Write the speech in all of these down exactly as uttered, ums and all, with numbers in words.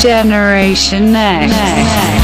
Generation Next. Next.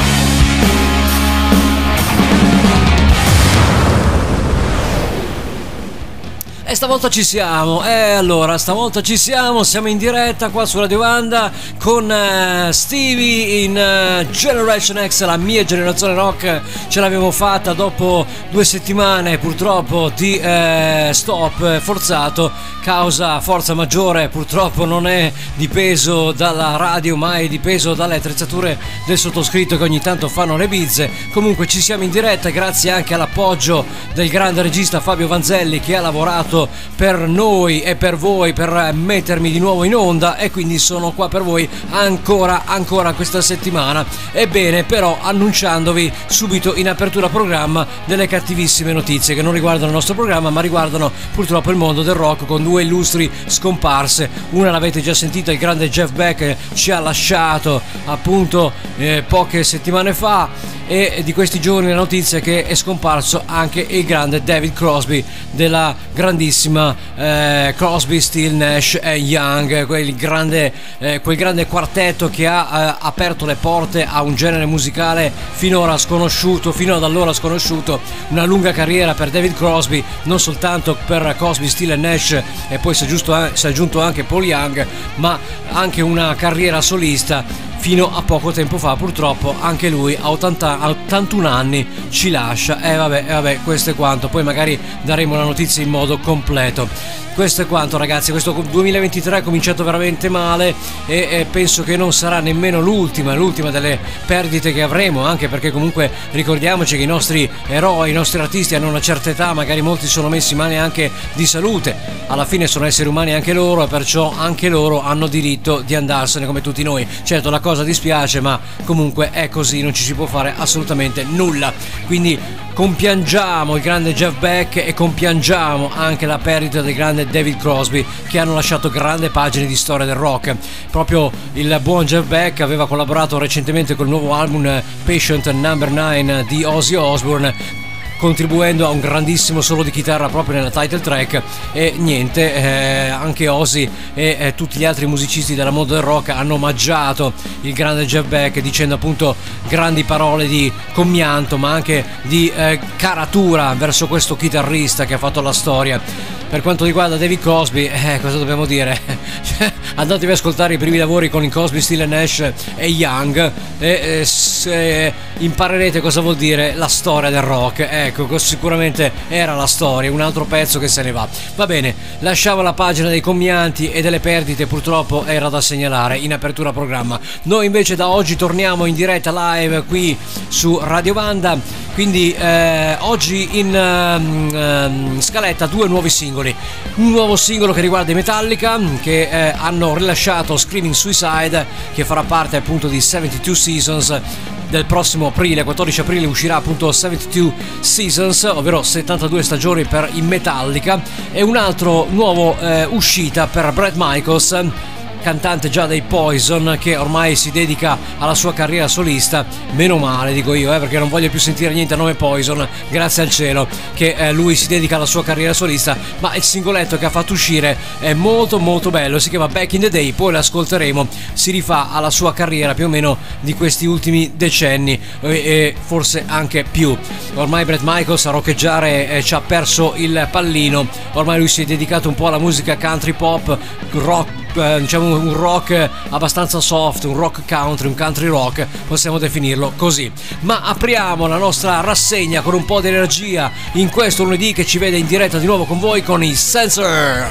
E stavolta ci siamo, e allora stavolta ci siamo, siamo in diretta qua su Radio Banda con uh, Stevie in uh, Generation X, la mia generazione rock. Ce l'abbiamo fatta dopo due settimane purtroppo di uh, stop forzato, causa forza maggiore, purtroppo non è dipeso dalla radio ma è dipeso dalle attrezzature del sottoscritto che ogni tanto fanno le bizze. Comunque ci siamo in diretta grazie anche all'appoggio del grande regista Fabio Vanzelli, che ha lavorato per noi e per voi per mettermi di nuovo in onda, e quindi sono qua per voi ancora ancora questa settimana. Ebbene, però annunciandovi subito in apertura programma delle cattivissime notizie che non riguardano il nostro programma ma riguardano purtroppo il mondo del rock, con due illustri scomparse. Una l'avete già sentita, il grande Jeff Beck ci ha lasciato appunto eh, poche settimane fa, e di questi giorni la notizia è che è scomparso anche il grande David Crosby della grandissima eh, Crosby, Still, Nash e Young, quel grande, eh, quel grande quartetto che ha eh, aperto le porte a un genere musicale finora sconosciuto, fino ad allora sconosciuto. Una lunga carriera per David Crosby, non soltanto per Crosby, Still e Nash, e poi si è, giusto, si è aggiunto anche Paul Young, ma anche una carriera solista. Fino a poco tempo fa purtroppo anche lui a ottanta, a ottantuno anni ci lascia. E eh vabbè, eh vabbè, questo è quanto. Poi magari daremo la notizia in modo completo. Questo è quanto, ragazzi. Questo duemilaventitré è cominciato veramente male e, e penso che non sarà nemmeno l'ultima, l'ultima delle perdite che avremo, anche perché comunque ricordiamoci che i nostri eroi, i nostri artisti hanno una certa età, magari molti sono messi male anche di salute. Alla fine sono esseri umani anche loro, e perciò anche loro hanno diritto di andarsene come tutti noi. Certo, la cosa dispiace, ma comunque è così, non ci si può fare assolutamente nulla. Quindi compiangiamo il grande Jeff Beck e compiangiamo anche la perdita del grande David Crosby, che hanno lasciato grandi pagine di storia del rock. Proprio il buon Jeff Beck aveva collaborato recentemente col nuovo album Patient Number nine di Ozzy Osbourne, contribuendo a un grandissimo solo di chitarra proprio nella title track. E niente, eh, anche Ozzy e eh, tutti gli altri musicisti della mondo del rock hanno omaggiato il grande Jeff Beck, dicendo appunto grandi parole di commianto ma anche di eh, caratura verso questo chitarrista che ha fatto la storia. Per quanto riguarda David Crosby, eh, cosa dobbiamo dire? Andatevi ad ascoltare i primi lavori con i Crosby, Still, Nash e Young e eh, se imparerete cosa vuol dire la storia del rock. Ecco, sicuramente era la storia, un altro pezzo che se ne va. Va bene, lasciamo la pagina dei commianti e delle perdite, purtroppo era da segnalare in apertura programma. Noi invece da oggi torniamo in diretta live qui su Radio Banda, quindi eh, oggi in uh, uh, scaletta due nuovi singoli. Un nuovo singolo che riguarda i Metallica, che eh, hanno rilasciato Screaming Suicide, che farà parte appunto di settantadue Seasons. Del prossimo aprile, quattordici aprile, uscirà appunto settantadue Seasons, ovvero settantadue stagioni per i Metallica. E un altro nuovo eh, uscita per Bret Michaels, cantante già dei Poison, che ormai si dedica alla sua carriera solista. Meno male, dico io, eh, perché non voglio più sentire niente a nome Poison, grazie al cielo che eh, lui si dedica alla sua carriera solista. Ma il singoletto che ha fatto uscire è molto molto bello, si chiama Back in the Day, poi l'ascolteremo. Si rifà alla sua carriera più o meno di questi ultimi decenni e, e forse anche più. Ormai Bret Michaels a roccheggiare eh, ci ha perso il pallino, ormai lui si è dedicato un po' alla musica country pop, rock, Eh, diciamo un rock abbastanza soft, un rock country, un country rock, possiamo definirlo così. Ma apriamo la nostra rassegna con un po' di energia in questo lunedì che ci vede in diretta di nuovo con voi con i Sensor.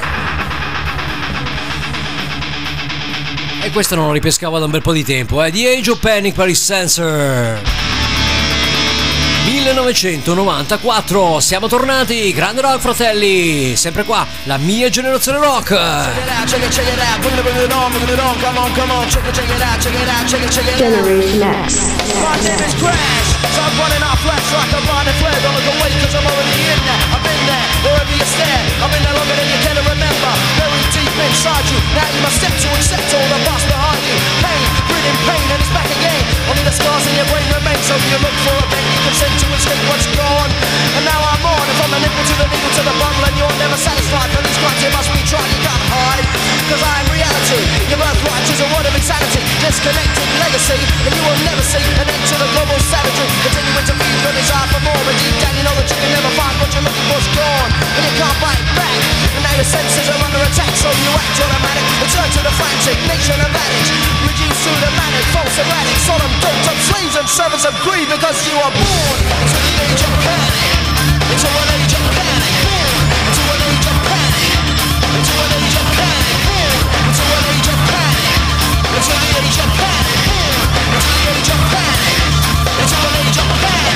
E questo non lo ripescavo da un bel po' di tempo, eh? The Age of Panic per i Sensor. millenovecentonovantaquattro, siamo tornati, grande rock fratelli, sempre qua, la mia generazione rock. Generation X. My name is Crash, so I'm running off flash like I'm running flare. Don't look away cause I'm already in there. I've been there, wherever you stand. I've been there longer than you can remember. Very deep inside you, now you must step to accept all the past behind you. Pain, breathing pain and it's back again. Only the scars in your brain remain. remain. So you look for a bend, you consent to escape what's gone. And now I'm on, and from the nipple to the needle to the bundle, and you're never satisfied. For these crimes you must be tried, you can't hide. Cause I'm reality, your birthright is a word of insanity. Disconnected legacy, and you will never see an end to the global savagery. Continuing to feed your desire for more, but deep down you know that you can never find what you're looking for's gone, and you can't fight back. And now your senses are under attack, so you act automatic. Return to the frantic nation of addicts, reduced to the manic, false erratic, solemn doped up slaves and servants of greed, because you are born into the age of panic, into an age of panic, into an age of panic, into an age of panic, into an age of panic, into the age of panic, into the age of panic, into an age of panic.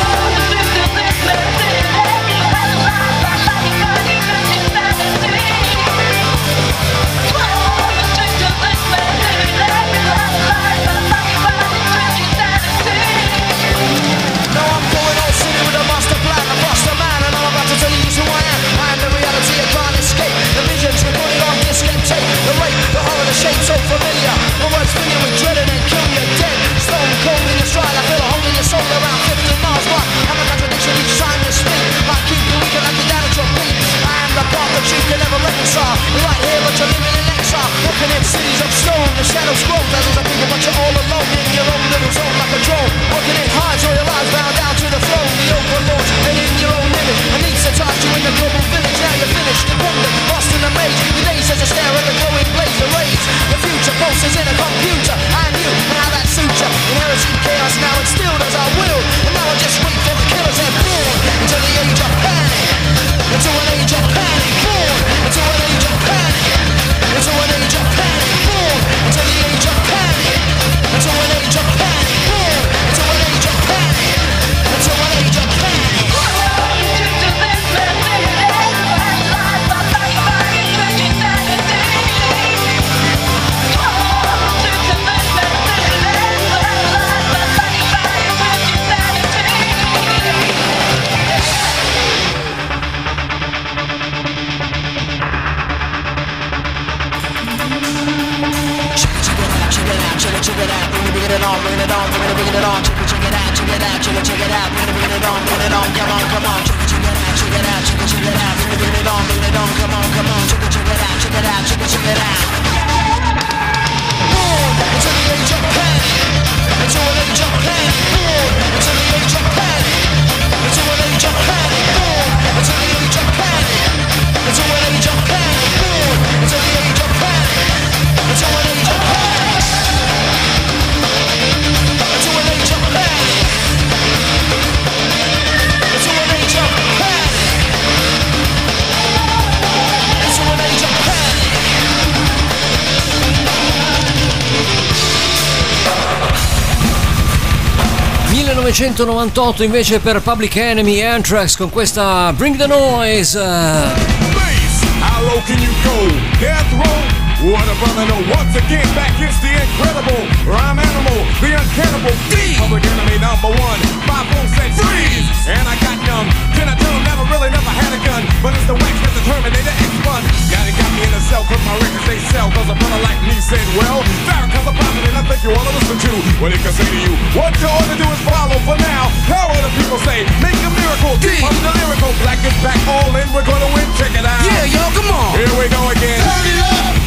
So familiar, the words fill you with dread and then kill you dead. Stone cold in your stride, I feel a hole in your soul around fifty miles wide. I'm a contradiction each time you speak. I keep you weak and I get down at your feet. I am the path that you can never reconcile. You're right here but you're living in exile. Walking in cities of stone, the shadows grow. Thousands of people but you're all alone in your own little zone like a drone. Walking in high, so your lives bound down to the throne. The overlords and in your own image. And each touch you in the global village. Now you're finished, dependent, lost in the maze. Your days as a stare at the glowing blaze of rays. The future pulses in a computer. I knew how that suits you. Inherited chaos now instilled as I will. And now I just wait for the killers and born into the age of panic. Into an age of panic. Born into an age of panic. Into an age of panic. Born into the age of panic. Into an age of panic. Born into an age of panic. Into an age of panic. Check it out, bring it on, bring it on, bring it, bring it on. Check it, check it out, check it out, check it, check it out, bring it, bring it on, bring it on. Come on, come on, check it, check it out, check it out, check it, check it out, bring it, bring it on, bring it on. Come on, come on, check it, check it out, check it out, check it, check it out. Born into the age of panic, into an age of panic. Born into the age of panic, into an age of panic. Born into the age of panic, into an age of panic. Born into the age of panic, into an age of panic. millenovecentonovantotto invece per Public Enemy, Anthrax con questa Bring the Noise. Please, how low can you go? Death row? What a brother, no. Once again, back is the incredible rhyme animal, the uncannibal D. Public Enemy number one, five four said freeze. And I got young, can I tell him never really never had a gun, but it's the wax that the Terminator X-Bun. Yeah, they got me in a cell, cause my records they sell, cause a brother like me said, well, Farrakhan's a prophet and I think you ought to listen to what he can say to you. What you ought to do is follow for now. How will the people say, make a miracle, D. I'm the lyrical, black is back, all in, we're gonna win, check it out. Yeah, y'all, come on. Here we go again. Turn it up.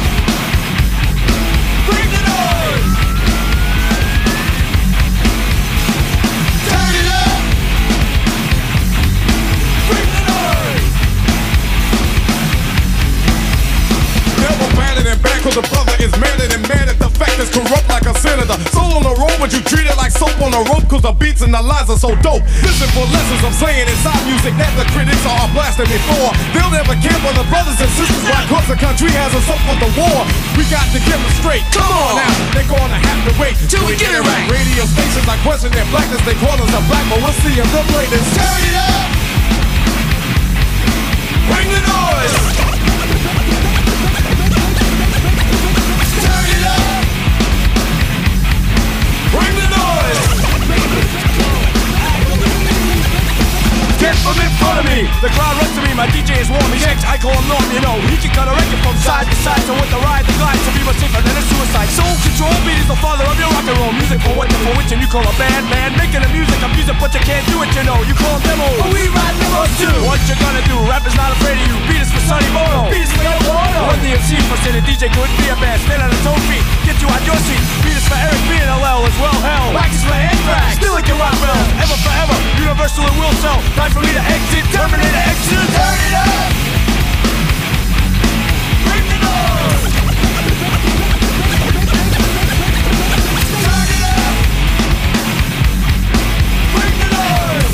Bring the noise! Turn it up! Bring the noise! Never batted and back, cause the brother is madder than mad at the fact that's corrupt like a senator. Soul on the road, but you treat it like soap on a rope, cause the beats and the lines are so dope. Listen for lessons I'm saying inside music that the critics are blasting before. They'll never care for the brothers and sisters, why cause the country has us up for the war. We got to get them straight. Come on now, they're gonna have to wait till we get it right. Radio stations are questioning their blackness, they call us a black, but we'll see if they'll play this. Turn it up! Bring the noise! Turn it up! Bring the noise! Get from in front of me! me. The crowd runs to me, my D J is warm. He checks, I call him Norm, you know. He can cut a record from side to side. So with the ride, the glide, to be much safer than a suicide. Soul control, beat is the father of your rock and roll. Music for what, for which, and you call a band, man. Making the music, I'm music, but you can't do it, you know. You call them demos, but we ride demos too. What you gonna do? Rap is not afraid of you. Beat is for Sonny Bono. Beat is for Yoko Ono. Run the M C for say the D J couldn't be a band. Stand on his own feet, get you out your seat. Beat is for Eric B and L L as well, hell. Wax is for Anthrax, still like your rock bell. Ever forever, universal and will sell. Time for me to exit, Terminator exit. Turn it up! Bring the noise! Turn it up! Bring the noise!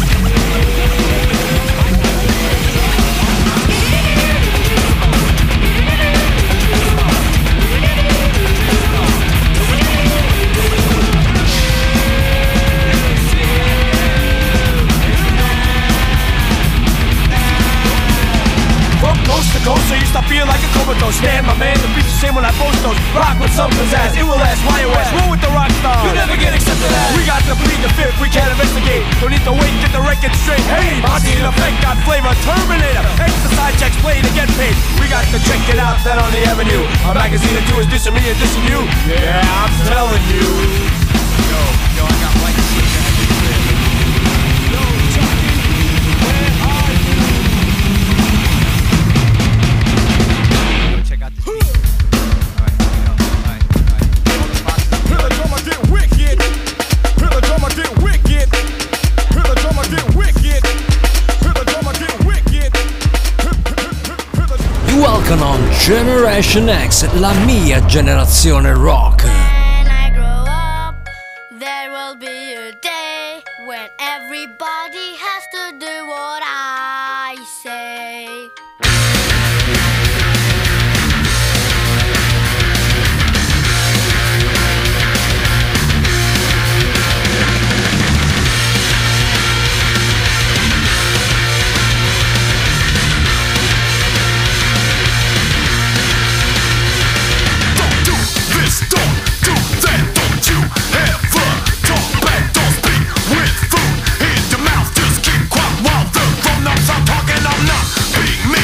Coast to coast, so you stop feeling like a comatose. Stand, my man, the beat's the same when I post those. Rock with some pizzazz, it will last, Y O S. Roll with the rock star, you never get accepted as. We got to plead the fifth, we can't investigate. Don't need to wait, get the record straight. Hey, Monty in effect, got flavor, Terminator. Exercise checks, play to get paid. We got to check it out, that on the avenue. A magazine or two is dissing me and dissing you. Yeah, I'm telling you. Yo, yo, I got white shit. Yo, Chucky, where are you? Check out this beat. Alright, here we go. Alright, alright. Hear the drummer get wicked. Hear the drummer get wicked. Hear the drummer get wicked. Hear the drummer get wicked. Welcome on Generation X, la mia generazione rock. When I grow up, there will be a day when everybody has to do what I say. Talking, I'm not being me.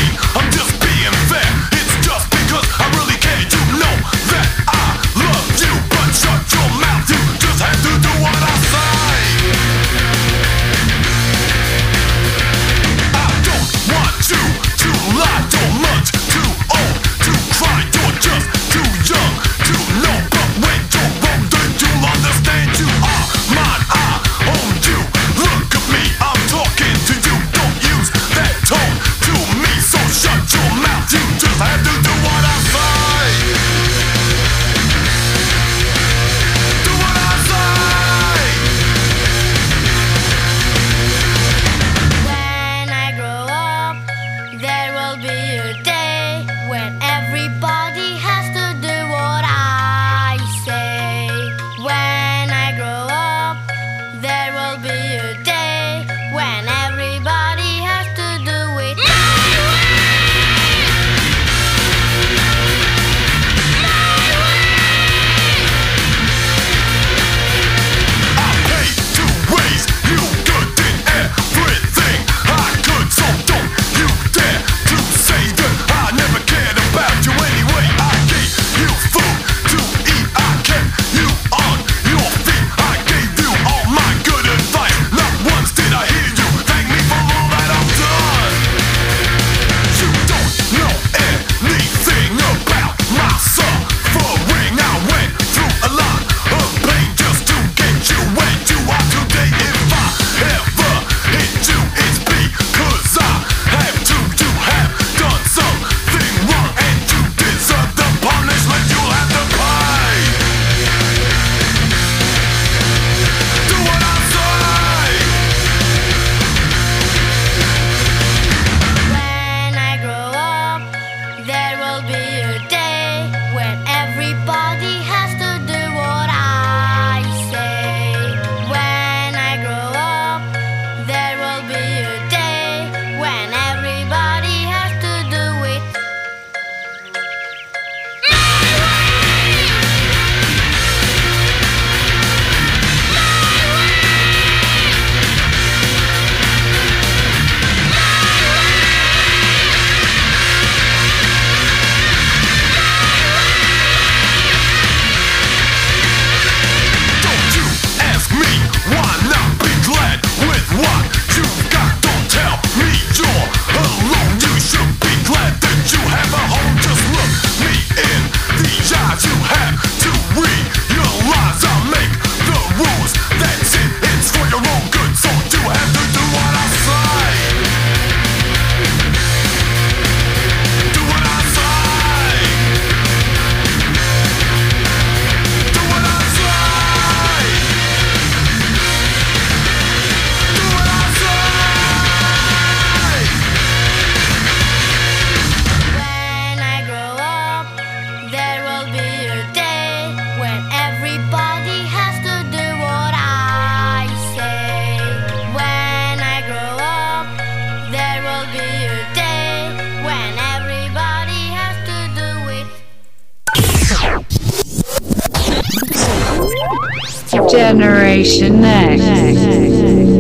Generation Next.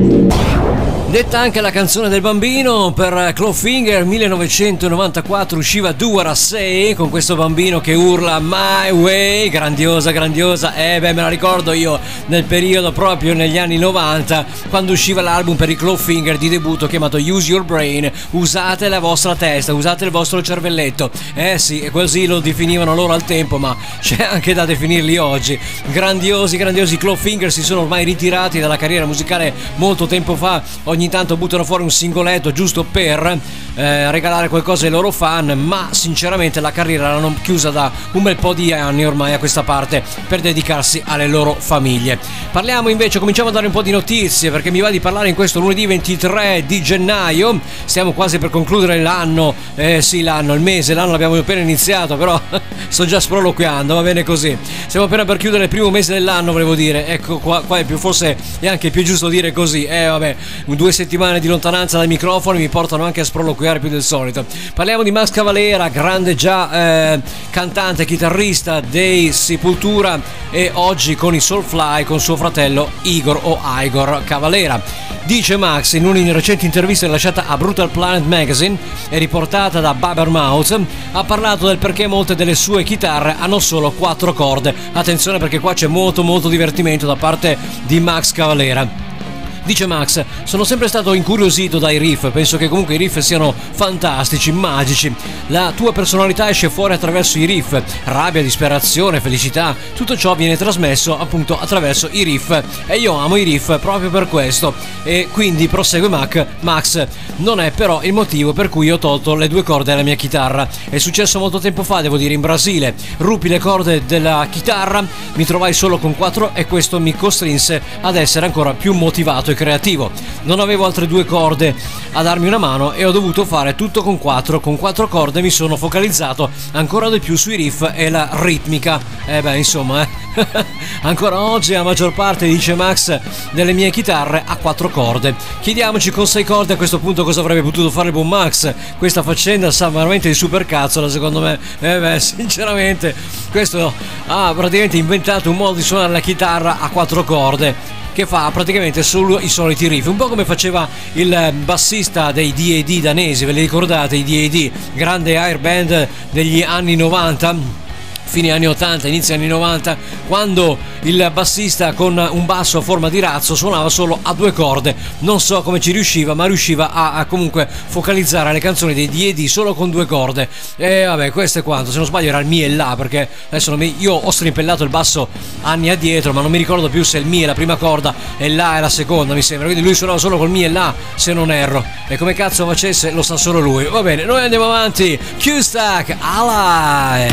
Detta anche la canzone del bambino, per Clawfinger millenovecentonovantaquattro usciva Do What I Say, con questo bambino che urla My Way, grandiosa, grandiosa. Eh beh, me la ricordo io nel periodo proprio negli anni novanta, quando usciva l'album per i Clawfinger di debutto chiamato Use Your Brain, usate la vostra testa, usate il vostro cervelletto. Eh sì, e così lo definivano loro al tempo, ma c'è anche da definirli oggi. Grandiosi, grandiosi Clawfinger, si sono ormai ritirati dalla carriera musicale molto tempo fa. Ogni tanto buttano fuori un singoletto giusto per eh, regalare qualcosa ai loro fan, ma sinceramente la carriera l'hanno chiusa da un bel po' di anni ormai a questa parte per dedicarsi alle loro famiglie. Parliamo invece, cominciamo a dare un po' di notizie, perché mi va di parlare in questo lunedì ventitré di gennaio. Stiamo quasi per concludere l'anno, eh sì l'anno, il mese, l'anno l'abbiamo appena iniziato, però sto già sproloquiando, va bene così. Stiamo appena per chiudere il primo mese dell'anno, volevo dire, ecco qua, qua è più, forse è anche più giusto dire così, eh vabbè, due settimane di lontananza dai microfoni mi portano anche a sproloquiare più del solito. Parliamo di Max Cavalera, grande già eh, cantante e chitarrista dei Sepultura, e oggi con i Soulfly con suo fratello Igor o Igor Cavalera. Dice Max in una recente intervista rilasciata a Brutal Planet Magazine e riportata da Blabbermouth, ha parlato del perché molte delle sue chitarre hanno solo quattro corde. Attenzione, perché qua c'è molto molto divertimento da parte di Max Cavalera. Dice Max, sono sempre stato incuriosito dai riff, penso che comunque i riff siano fantastici, magici. La tua personalità esce fuori attraverso i riff, rabbia, disperazione, felicità, tutto ciò viene trasmesso appunto attraverso i riff, e io amo i riff proprio per questo. E quindi prosegue Mac, Max, non è però il motivo per cui ho tolto le due corde alla mia chitarra. È successo molto tempo fa, devo dire, in Brasile. Ruppi le corde della chitarra, mi trovai solo con quattro e questo mi costrinse ad essere ancora più motivato e creativo. Non avevo altre due corde a darmi una mano e ho dovuto fare tutto con quattro. Con quattro corde mi sono focalizzato ancora di più sui riff e la ritmica. E eh beh, insomma, eh. Ancora oggi la maggior parte, dice Max, delle mie chitarre ha quattro corde. Chiediamoci con sei corde a questo punto cosa avrebbe potuto fare il buon Max. Questa faccenda sa veramente di supercazzola, secondo me. Eh beh, sinceramente, questo ha praticamente inventato un modo di suonare la chitarra a quattro corde che fa praticamente solo i soliti riff, un po' come faceva il bassista dei D A D danesi. Ve li ricordate i D A D, grande air band degli anni novanta, fine anni ottanta, inizio anni novanta, quando il bassista con un basso a forma di razzo suonava solo a due corde. Non so come ci riusciva, ma riusciva a, a comunque focalizzare le canzoni dei D A D solo con due corde. E vabbè, questo è quanto. Se non sbaglio era il Mi e La, perché adesso non mi... io ho strimpellato il basso anni addietro, ma non mi ricordo più se il Mi è la prima corda e La è la seconda, mi sembra. Quindi lui suonava solo col Mi e La, se non erro. E come cazzo facesse lo sa solo lui. Va bene, noi andiamo avanti. Q-Stack, Alive!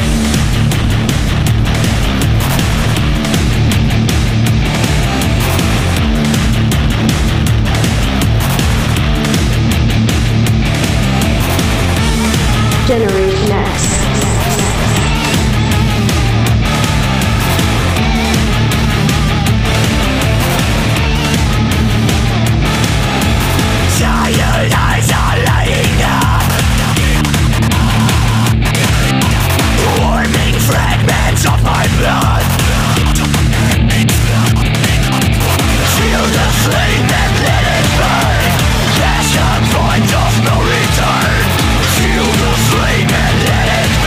Generation X. Point of no return. Feel the flame and let it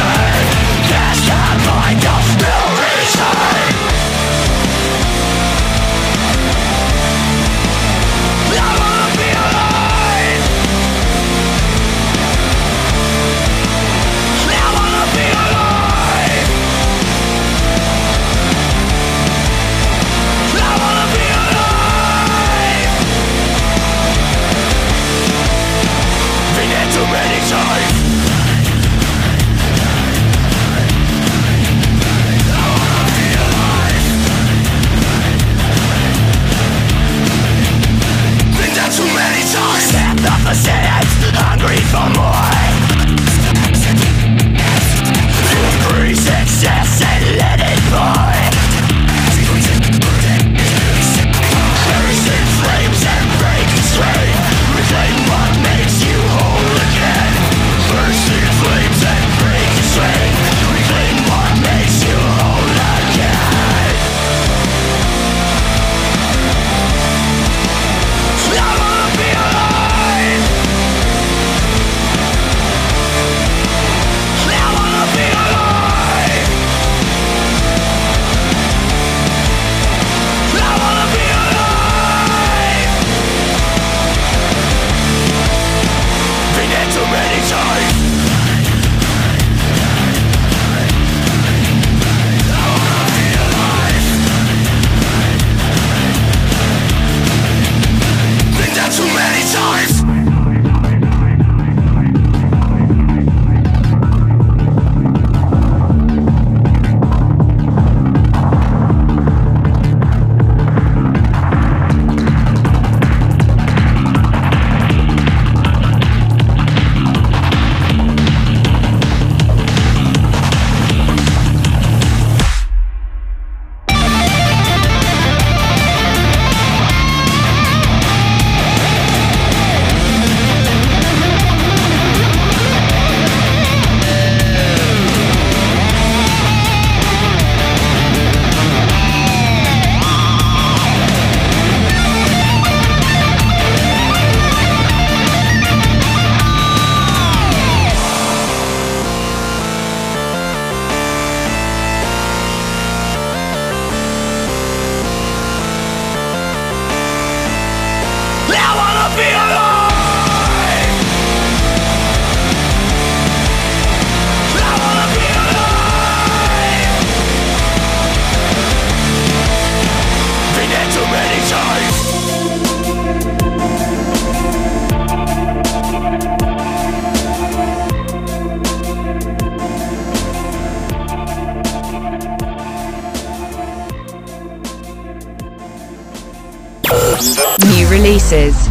be alive. I wanna be alive. Been there too many times. New releases.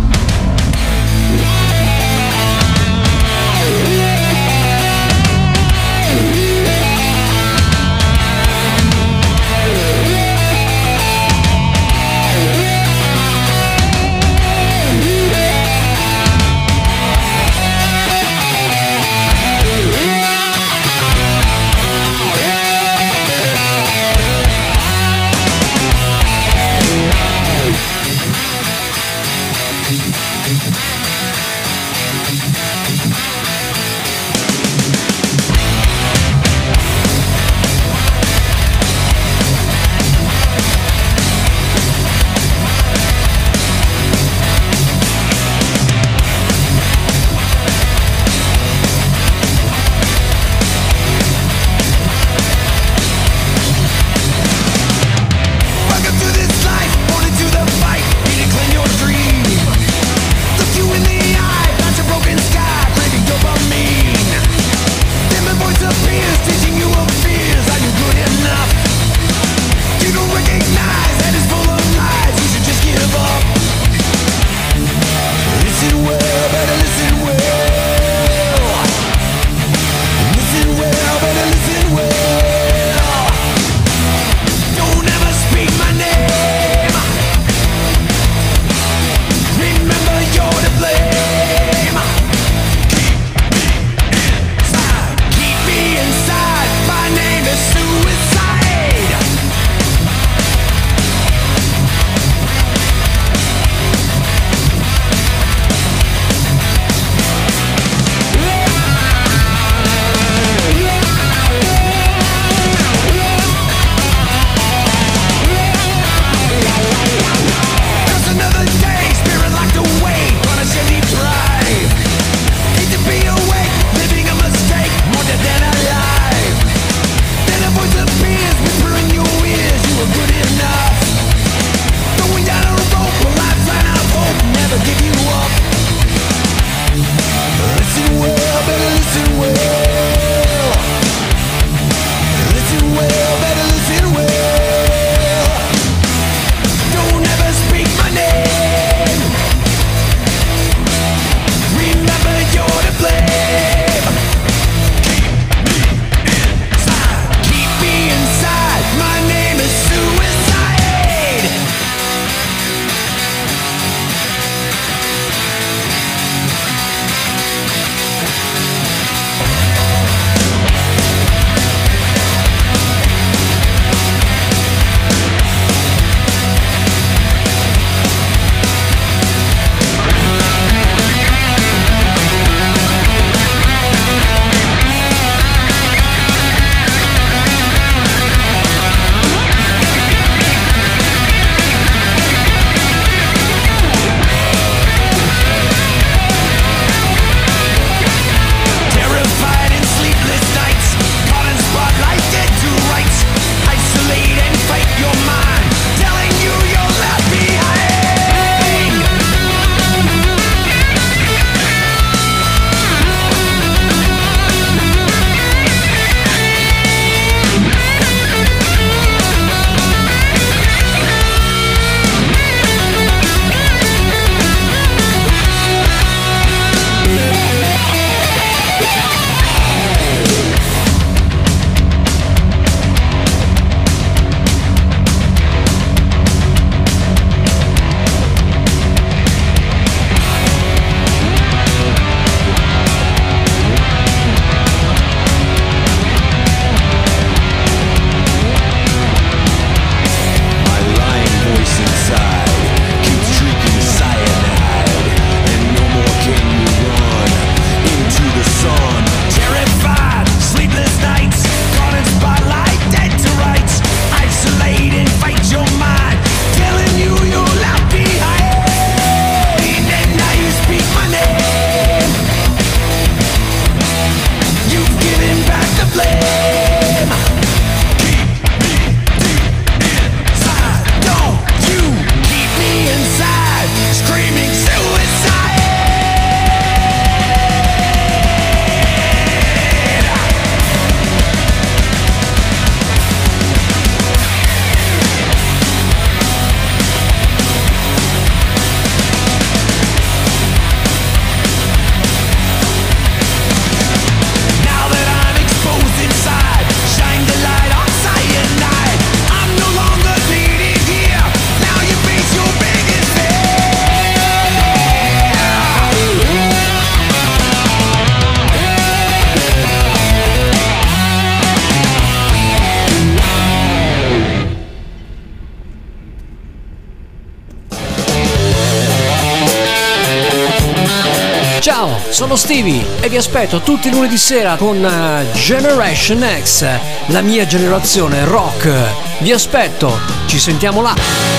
Ciao, sono Stevie e vi aspetto tutti i lunedì sera con uh, Generation X, la mia generazione rock. Vi aspetto, ci sentiamo là.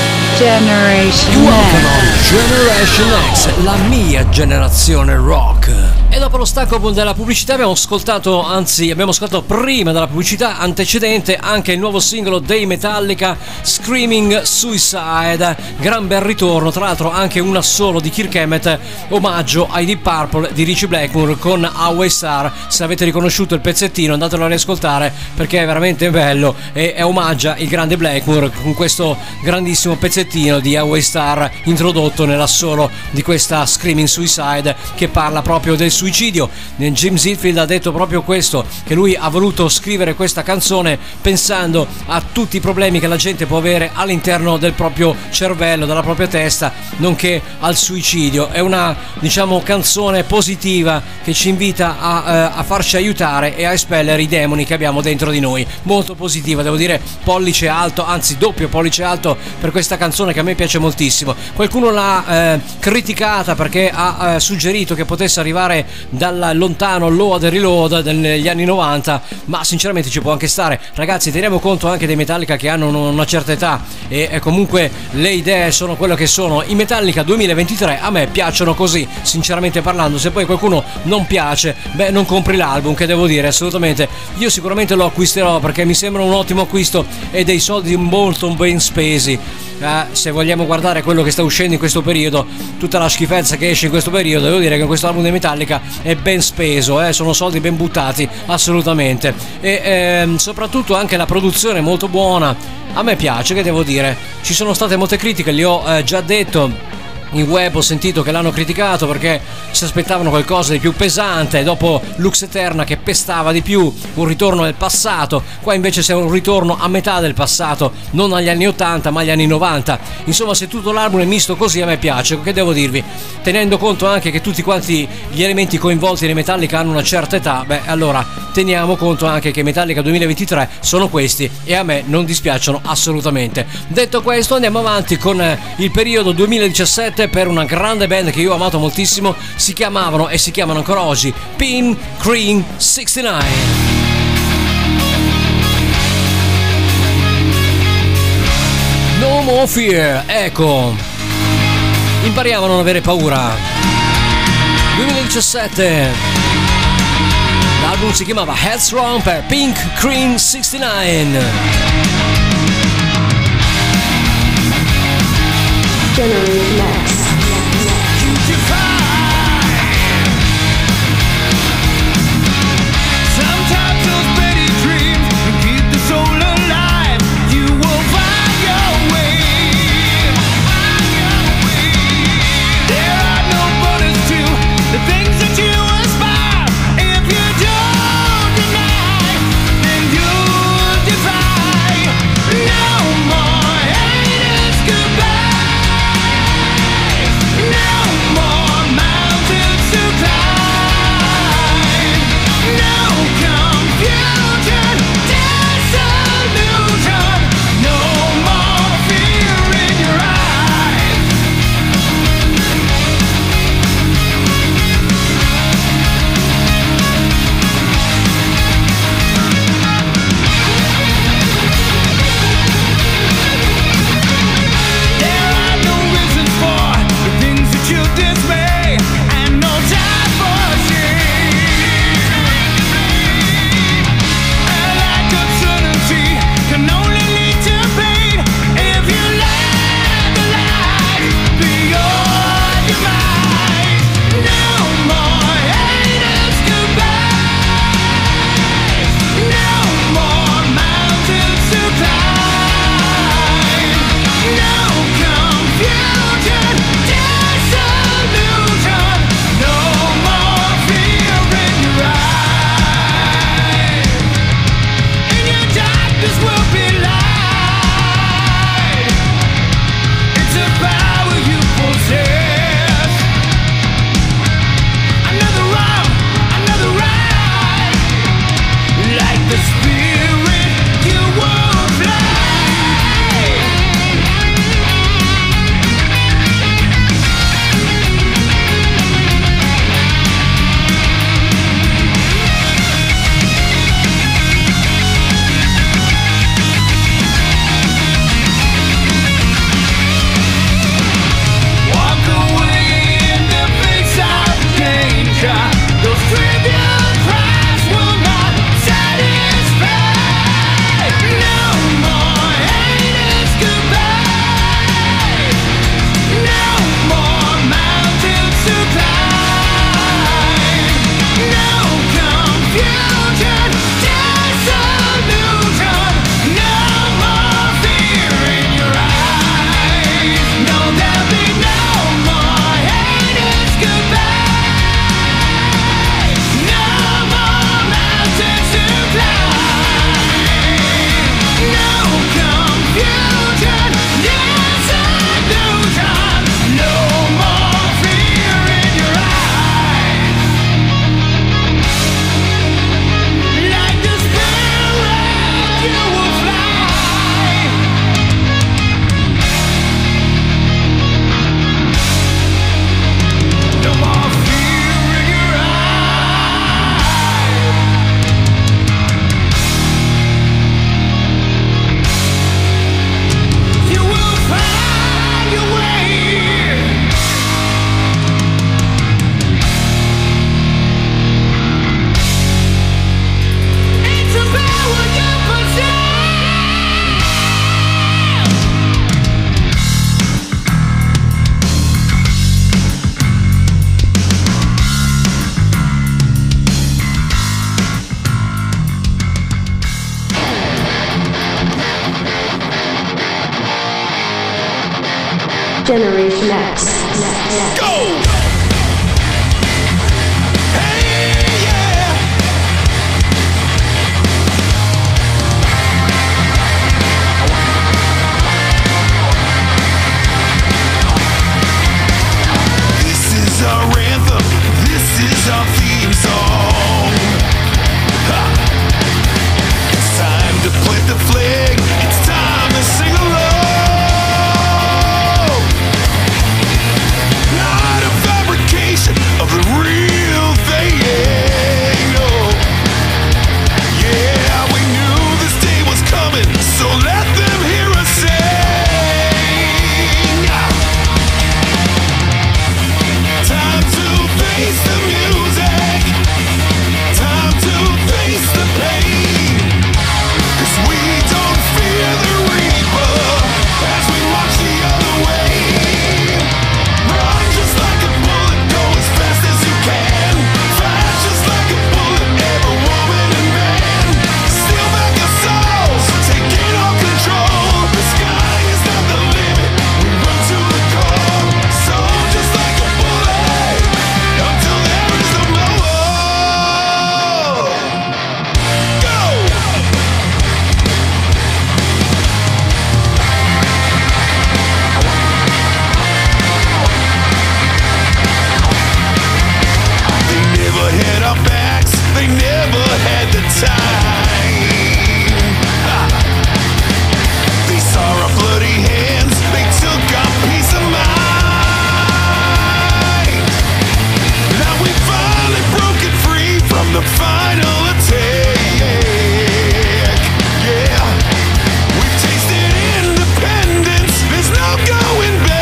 Generation Welcome on X. Generation X, la mia generazione rock. E dopo lo stacco della pubblicità abbiamo ascoltato, anzi abbiamo ascoltato prima della pubblicità antecedente anche il nuovo singolo dei Metallica, Screaming Suicide. Gran bel ritorno, tra l'altro anche un assolo di Kirk Hammett, omaggio ai Deep Purple di Ritchie Blackmore con Highway Star. Se avete riconosciuto il pezzettino andatelo a riascoltare perché è veramente bello e è omaggia il grande Blackmore con questo grandissimo pezzettino di Highway Star introdotto nell'assolo di questa Screaming Suicide, che parla proprio del suicidio. Jim Hetfield ha detto proprio questo, che lui ha voluto scrivere questa canzone pensando a tutti i problemi che la gente può avere all'interno del proprio cervello, della propria testa, nonché al suicidio. È una, diciamo, canzone positiva che ci invita a, eh, a farci aiutare e a espellere i demoni che abbiamo dentro di noi. Molto positiva, devo dire, pollice alto, anzi doppio pollice alto per questa canzone che a me piace moltissimo. Qualcuno l'ha eh, criticata perché ha eh, suggerito che potesse arrivare dal lontano Load e Reload degli anni novanta, ma sinceramente ci può anche stare. Ragazzi, teniamo conto anche dei Metallica che hanno una certa età e, e comunque le idee sono quello che sono. I Metallica duemilaventitré a me piacciono così, sinceramente parlando. Se poi qualcuno non piace, beh, non compri l'album, che devo dire, assolutamente. Io sicuramente lo acquisterò perché mi sembra un ottimo acquisto e dei soldi molto ben spesi. Eh, se vogliamo guardare quello che sta uscendo in questo periodo, tutta la schifezza che esce in questo periodo, devo dire che questo album dei Metallica è ben speso, eh, sono soldi ben buttati, assolutamente. E ehm, soprattutto anche la produzione è molto buona, a me piace, che devo dire. Ci sono state molte critiche, li ho eh, già detto. In web ho sentito che l'hanno criticato perché si aspettavano qualcosa di più pesante, dopo Lux Eterna che pestava di più, un ritorno del passato. Qua invece c'è un ritorno a metà del passato, non agli anni ottanta ma agli anni novanta. Insomma, se tutto l'album è misto così, a me piace. Che devo dirvi, tenendo conto anche che tutti quanti gli elementi coinvolti nei Metallica hanno una certa età, beh, allora teniamo conto anche che Metallica duemilaventitré sono questi e a me non dispiacciono assolutamente. Detto questo, andiamo avanti con il periodo duemiladiciassette per una grande band che io ho amato moltissimo. Si chiamavano e si chiamano ancora oggi Pink Cream sessantanove. No More Fear, ecco, impariamo a non avere paura. duemiladiciassette, l'album si chiamava Headstrong per Pink Cream sessantanove. Generation X. No more haters, goodbye. Next. Go! Hey, yeah! This is our anthem, this is our theme song. Ha! It's time to plant the flag, it's time to sing along. Not a fabrication of the real thing, no. Yeah, we knew this day was coming, so let them hear us sing. Time to face the music, time to face the pain, 'cause we don't fear the reaper as we march the other way. Run just like a bullet, go as fast as you can. Fight just like a bullet, every woman and man. Steal back our souls, taking all control. The sky is not the limit, we run to the core. So just like a bullet, until there is no more. Go! They never had our backs, they never had the time. Ha! They saw our bloody hands, they took our peace of mind. Now we finally broken free from the final attack. Yeah, we've tasted independence, there's no going back.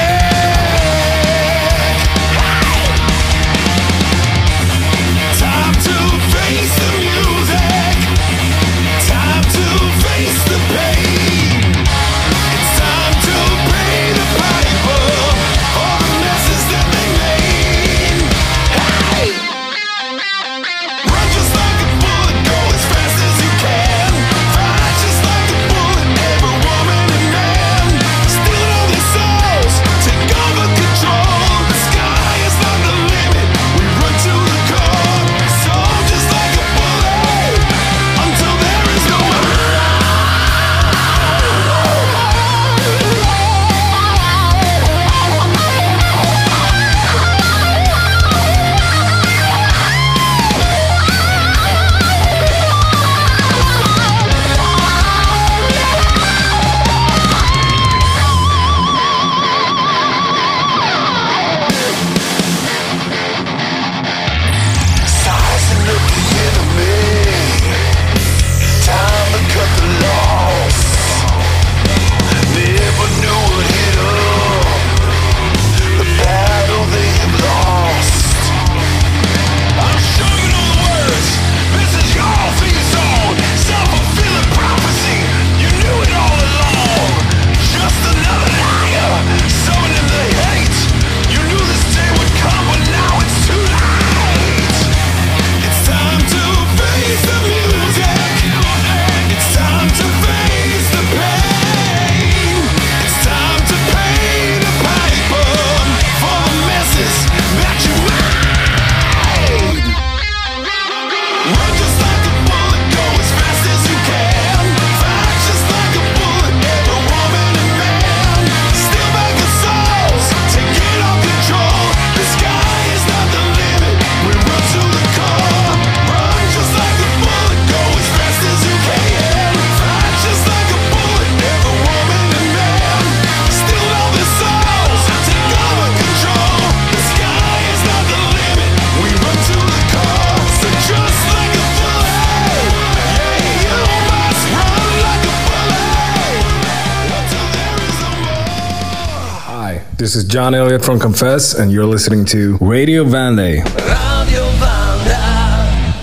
Time to face the music, time to face the pain. It's time to pay the piper for the messes that they made. Hey! Run just like a bullet, go as fast as you can. Fight just like a bullet, every woman and man. Stealing all their souls, take over control. The sky is not the limit, we run to the core. So just like a bullet, until there is no more. Sizing up the enemy, time to cut the loss. Never knew what hit 'em, the battle they have lost. I'm sure you know the words, this is your theme song. Self-fulfilling prophecy, you knew it all along. Just another liar, sowing in the hate. You knew this day would come, but now it's too late. It's time to face the music, it's time to face the pain. It's time to pay the piper for the messes that you made. Run just like a bullet, go as fast as you can. Fight just like a bullet, every woman and man. Steal back our souls, taking all control. The sky is not the limit, we run to the core. Run just like a bullet, go as fast as you can. Fight just like a bullet, every woman and man. Steal all their souls, take over control. The sky is not the limit, we run to the core. So just like a bullet, yeah, you must run like a bullet, until there is no more. Hi, this is John Elliott from Confess, and you're listening to Radio Vande. Radio Vanda.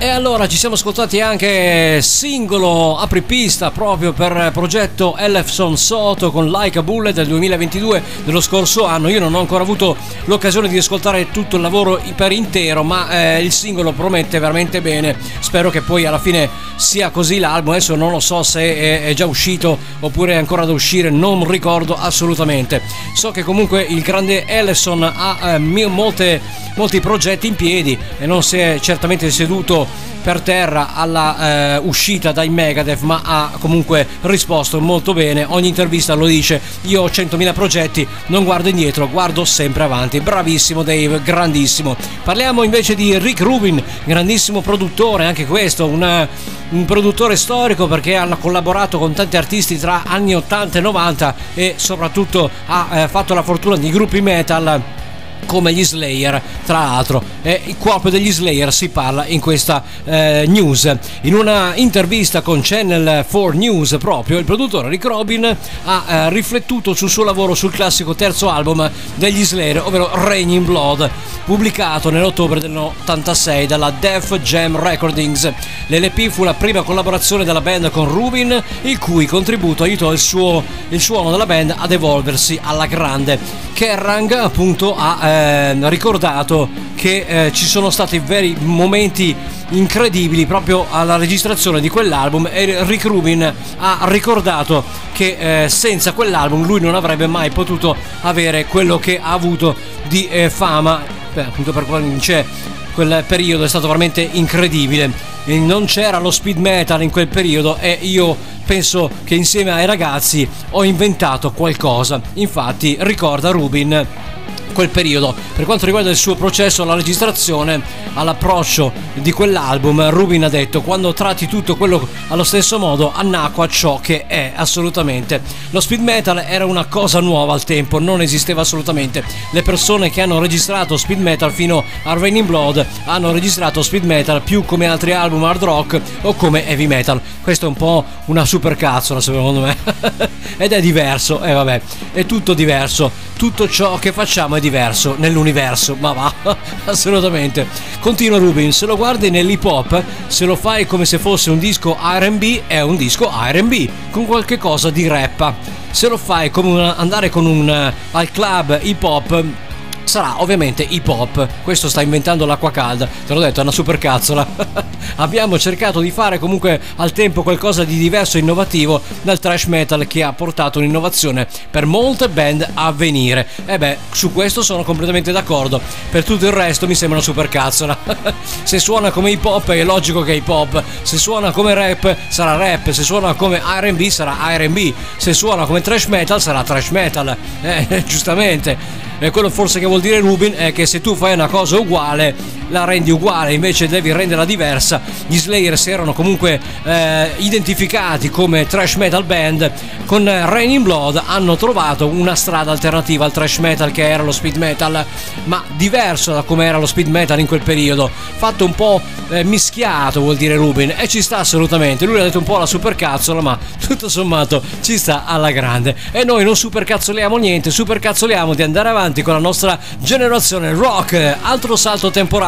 E allora ci siamo ascoltati anche singolo apripista proprio per progetto Ellefson Soto con Like a Bullet del duemilaventidue dello scorso anno. Io non ho ancora avuto l'occasione di ascoltare tutto il lavoro per intero, ma eh, il singolo promette veramente bene. Spero che poi alla fine sia così l'album. Adesso non lo so se è, è già uscito oppure è ancora da uscire, non ricordo assolutamente. So che comunque il grande Ellefson ha eh, molte, molti progetti in piedi e non si è certamente seduto per terra alla eh, uscita dai Megadeth, ma ha comunque risposto molto bene. Ogni intervista lo dice: io ho centomila progetti, non guardo indietro, guardo sempre avanti. Bravissimo Dave, grandissimo. Parliamo invece di Rick Rubin, grandissimo produttore, anche questo una, un produttore storico, perché ha collaborato con tanti artisti tra anni ottanta e novanta e soprattutto ha eh, fatto la fortuna di gruppi metal come gli Slayer. Tra l'altro è il corpo degli Slayer si parla in questa eh, news. In una intervista con Channel quattro News proprio il produttore Rick Rubin ha eh, riflettuto sul suo lavoro sul classico terzo album degli Slayer, ovvero Rain in Blood, pubblicato nell'ottobre dell'ottantasei dalla Def Jam Recordings. L'L P fu la prima collaborazione della band con Rubin, il cui contributo aiutò il, suo, il suono della band ad evolversi alla grande. Kerrang appunto ha eh, ricordato che eh, ci sono stati veri momenti incredibili proprio alla registrazione di quell'album, e Rick Rubin ha ricordato che eh, senza quell'album lui non avrebbe mai potuto avere quello che ha avuto di eh, fama. Beh, appunto per c'è quel periodo è stato veramente incredibile, e non c'era lo speed metal in quel periodo e io penso che insieme ai ragazzi ho inventato qualcosa. Infatti ricorda Rubin quel periodo. Per quanto riguarda il suo processo alla registrazione, all'approccio di quell'album, Rubin ha detto: quando tratti tutto quello allo stesso modo annacqua ciò che è assolutamente. Lo speed metal era una cosa nuova al tempo, non esisteva assolutamente. Le persone che hanno registrato speed metal fino a Rain in Blood hanno registrato speed metal più come altri album hard rock o come heavy metal. Questo è un po' una supercazzola secondo me ed è diverso, e eh, vabbè, è tutto diverso. Tutto ciò che facciamo è diverso nell'universo, ma va, assolutamente. Continua Rubin: se lo guardi nell'hip hop, se lo fai come se fosse un disco R and B, è un disco R and B con qualche cosa di rap. Se lo fai come una, andare con un uh, al club hip hop, sarà ovviamente hip hop. Questo sta inventando l'acqua calda, te l'ho detto, è una supercazzola. Abbiamo cercato di fare comunque al tempo qualcosa di diverso e innovativo dal thrash metal, che ha portato un'innovazione per molte band a venire. E beh, su questo sono completamente d'accordo. Per tutto il resto mi sembra una supercazzola. Se suona come hip hop è logico che è hip hop, se suona come rap sarà rap, se suona come R and B sarà R and B, se suona come thrash metal sarà thrash metal, eh, giustamente. E quello forse che vuol dire Rubin è che se tu fai una cosa uguale la rendi uguale, invece devi renderla diversa. Gli Slayer si erano comunque eh, identificati come thrash metal band, con Rain in Blood hanno trovato una strada alternativa al thrash metal, che era lo speed metal, ma diverso da come era lo speed metal in quel periodo, fatto un po' eh, mischiato, vuol dire Rubin, e ci sta assolutamente. Lui ha detto un po' la supercazzola, ma tutto sommato ci sta alla grande. E noi non supercazzoliamo niente, supercazzoliamo di andare avanti con la nostra generazione rock. Altro salto temporale.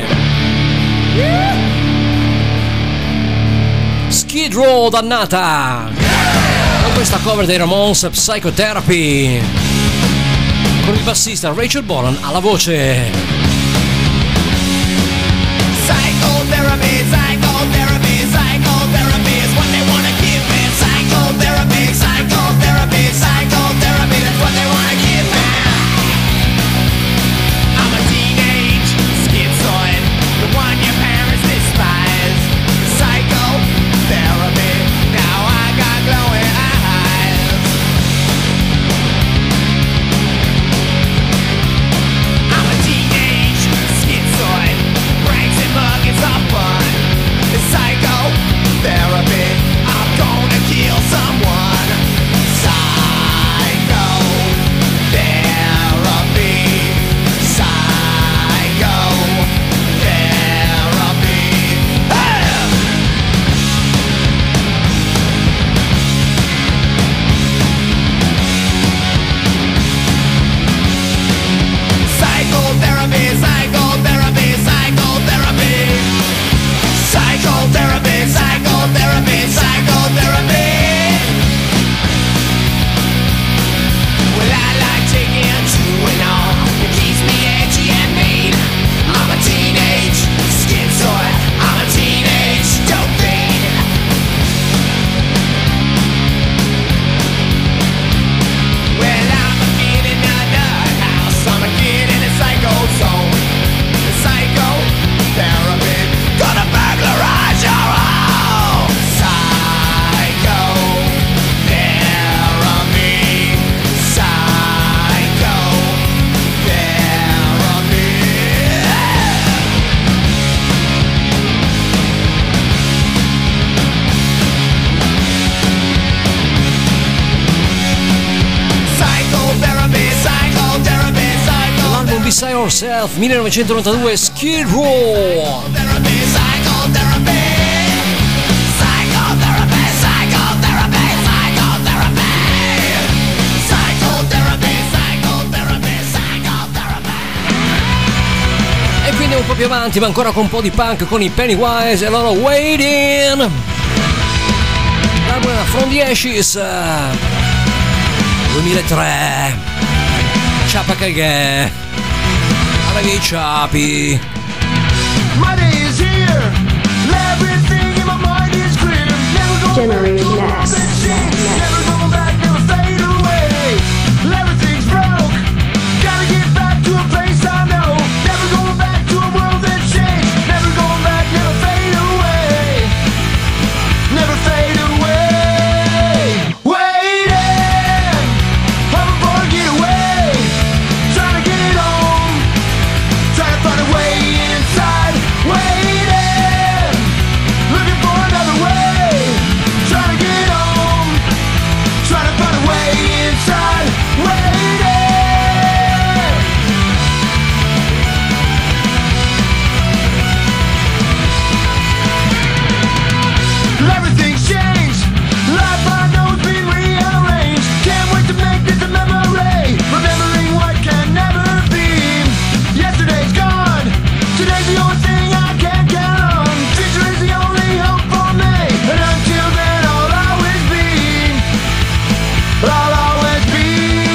Skid Row dannata, con questa cover dei Ramones, Psychotherapy, con il bassista Rachel Bolan alla voce. Psychotherapy, psychotherapy, psychotherapy is what they wanna give me. Psychotherapy, psychotherapy, psychotherapy, that's what they wanna give me. I'm a teenage schizoid, the one your parents despise. Psychotherapy, now I got glowing eyes. I'm a teenage schizoid, pranks and buckets of fun. Beside Yourself, millenovecentonovantadue, Skid Row. E quindi andiamo un po' più avanti, ma ancora con un po' di punk con i Pennywise e loro Waiting. L'album era From the Ashes duemilatré. Ciapa cagè. Alla via i ciapi. My day is here. Everything in my mind is clear. Never go Generation X. Never going back, never fade away. Everything's broke. Gotta get back to a place I know. Never going back to a world that's changed. Never going back, never fade away. Never fade away. Waiting. I'm a getaway. Trying to get home. Trying to find a way inside. Waiting. Looking for another way. Trying to get home. Trying to find a way inside. Waiting. Everything's changed. Life I know's been rearranged. Can't wait to make this a memory. Remembering what can never be. Yesterday's gone. Today's the only thing I can count on. Future is the only hope for me. And until then, I'll always be. I'll always be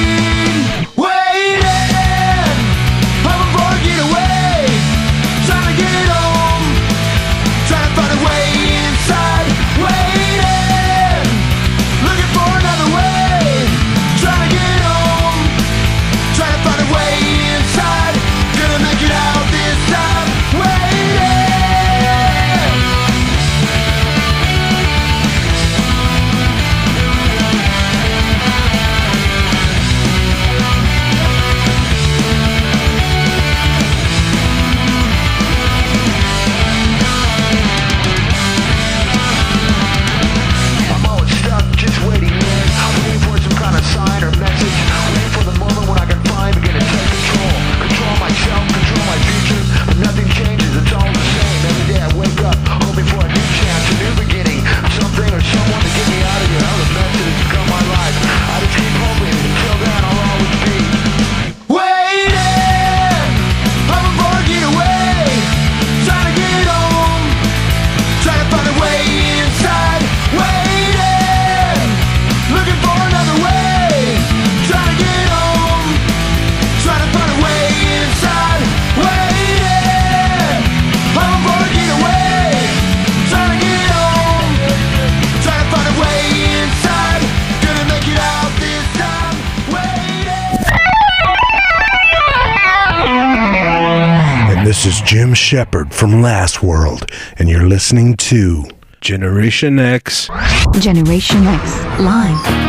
waiting. I'm a boy getaway. Trying to get home. Trying to find a way inside. Waiting. Looking for another way. Trying to get home. Trying to find a way inside. Gonna make it out this time. Waiting. I'm always stuck, just waiting in. Waiting for some kind of sign or message. Waiting for the moment when I can find begin to take control. Control myself, control my future. But nothing changes, it's all the same. Every day I wake up, hoping for a new chance, a new beginning. Something or someone to get me out of here. How the mess that has become my life. I just keep hoping, until then I'll always be waiting. I'm a boy getaway. Trying to get home. Trying to find a way inside. Waiting. Looking for another way. Trying to get home. Trying to find a way inside. Waiting. I'm a boy getaway. Trying to get home. Trying to find a way inside. Gonna make it out this time. Waiting. And this is Jim Shepard from Last World, and you're listening to Generation X. Generation X Live.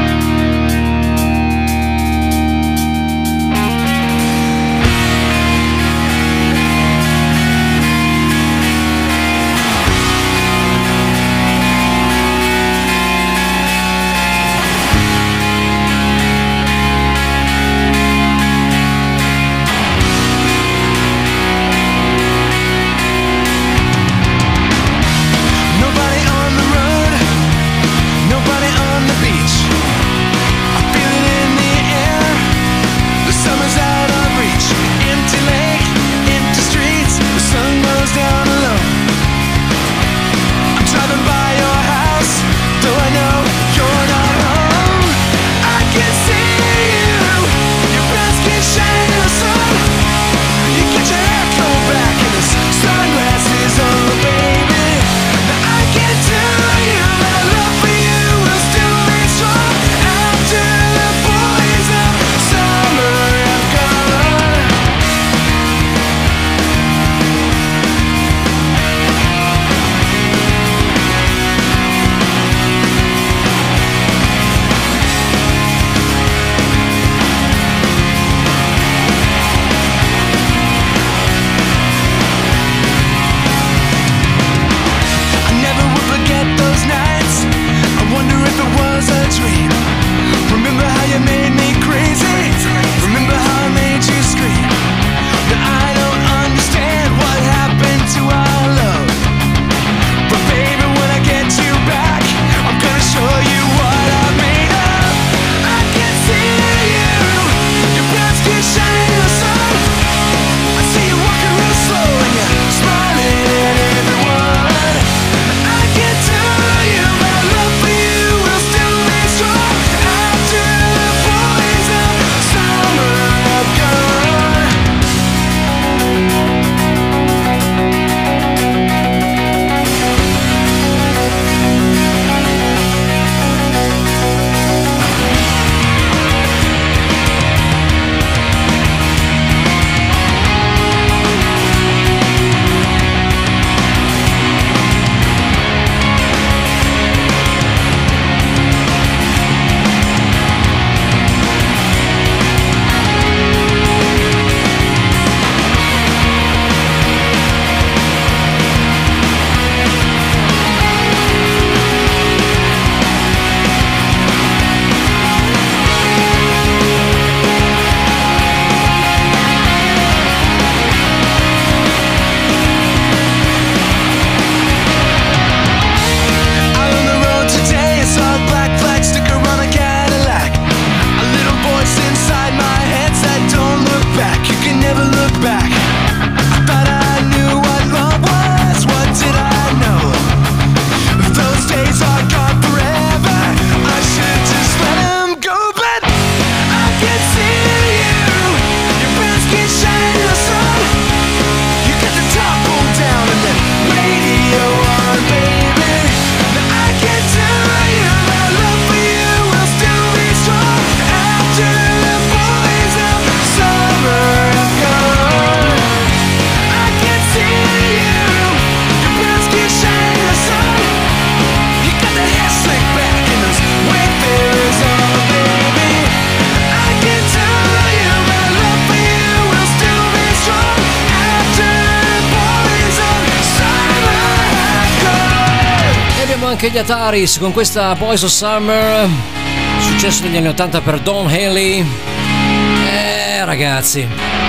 Nobody on the road, nobody on the beach. anche gli Ataris con questa Boys of Summer, successo negli anni ottanta per Don Henley. Eh ragazzi,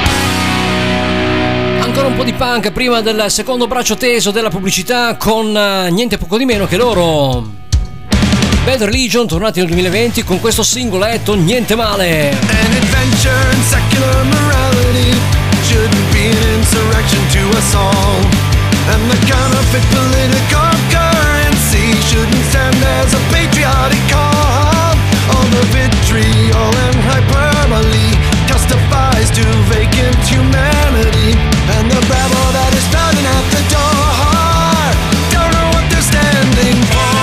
ancora un po' di punk prima del secondo braccio teso della pubblicità con uh, niente poco di meno che loro Bad Religion, tornati nel duemilaventi con questo singoletto Niente Male. An adventure in secular morality shouldn't be an insurrection to us all. And the counterfeit political currency shouldn't stand as a patriotic call. All the vitriol and hyperbole testifies to vacant humanity. And the babble that is pounding at the door don't know what they're standing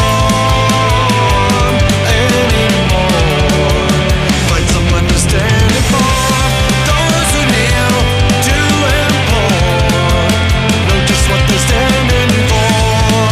for anymore. Find someone to stand for those who kneel to implore. Know just what they're standing for.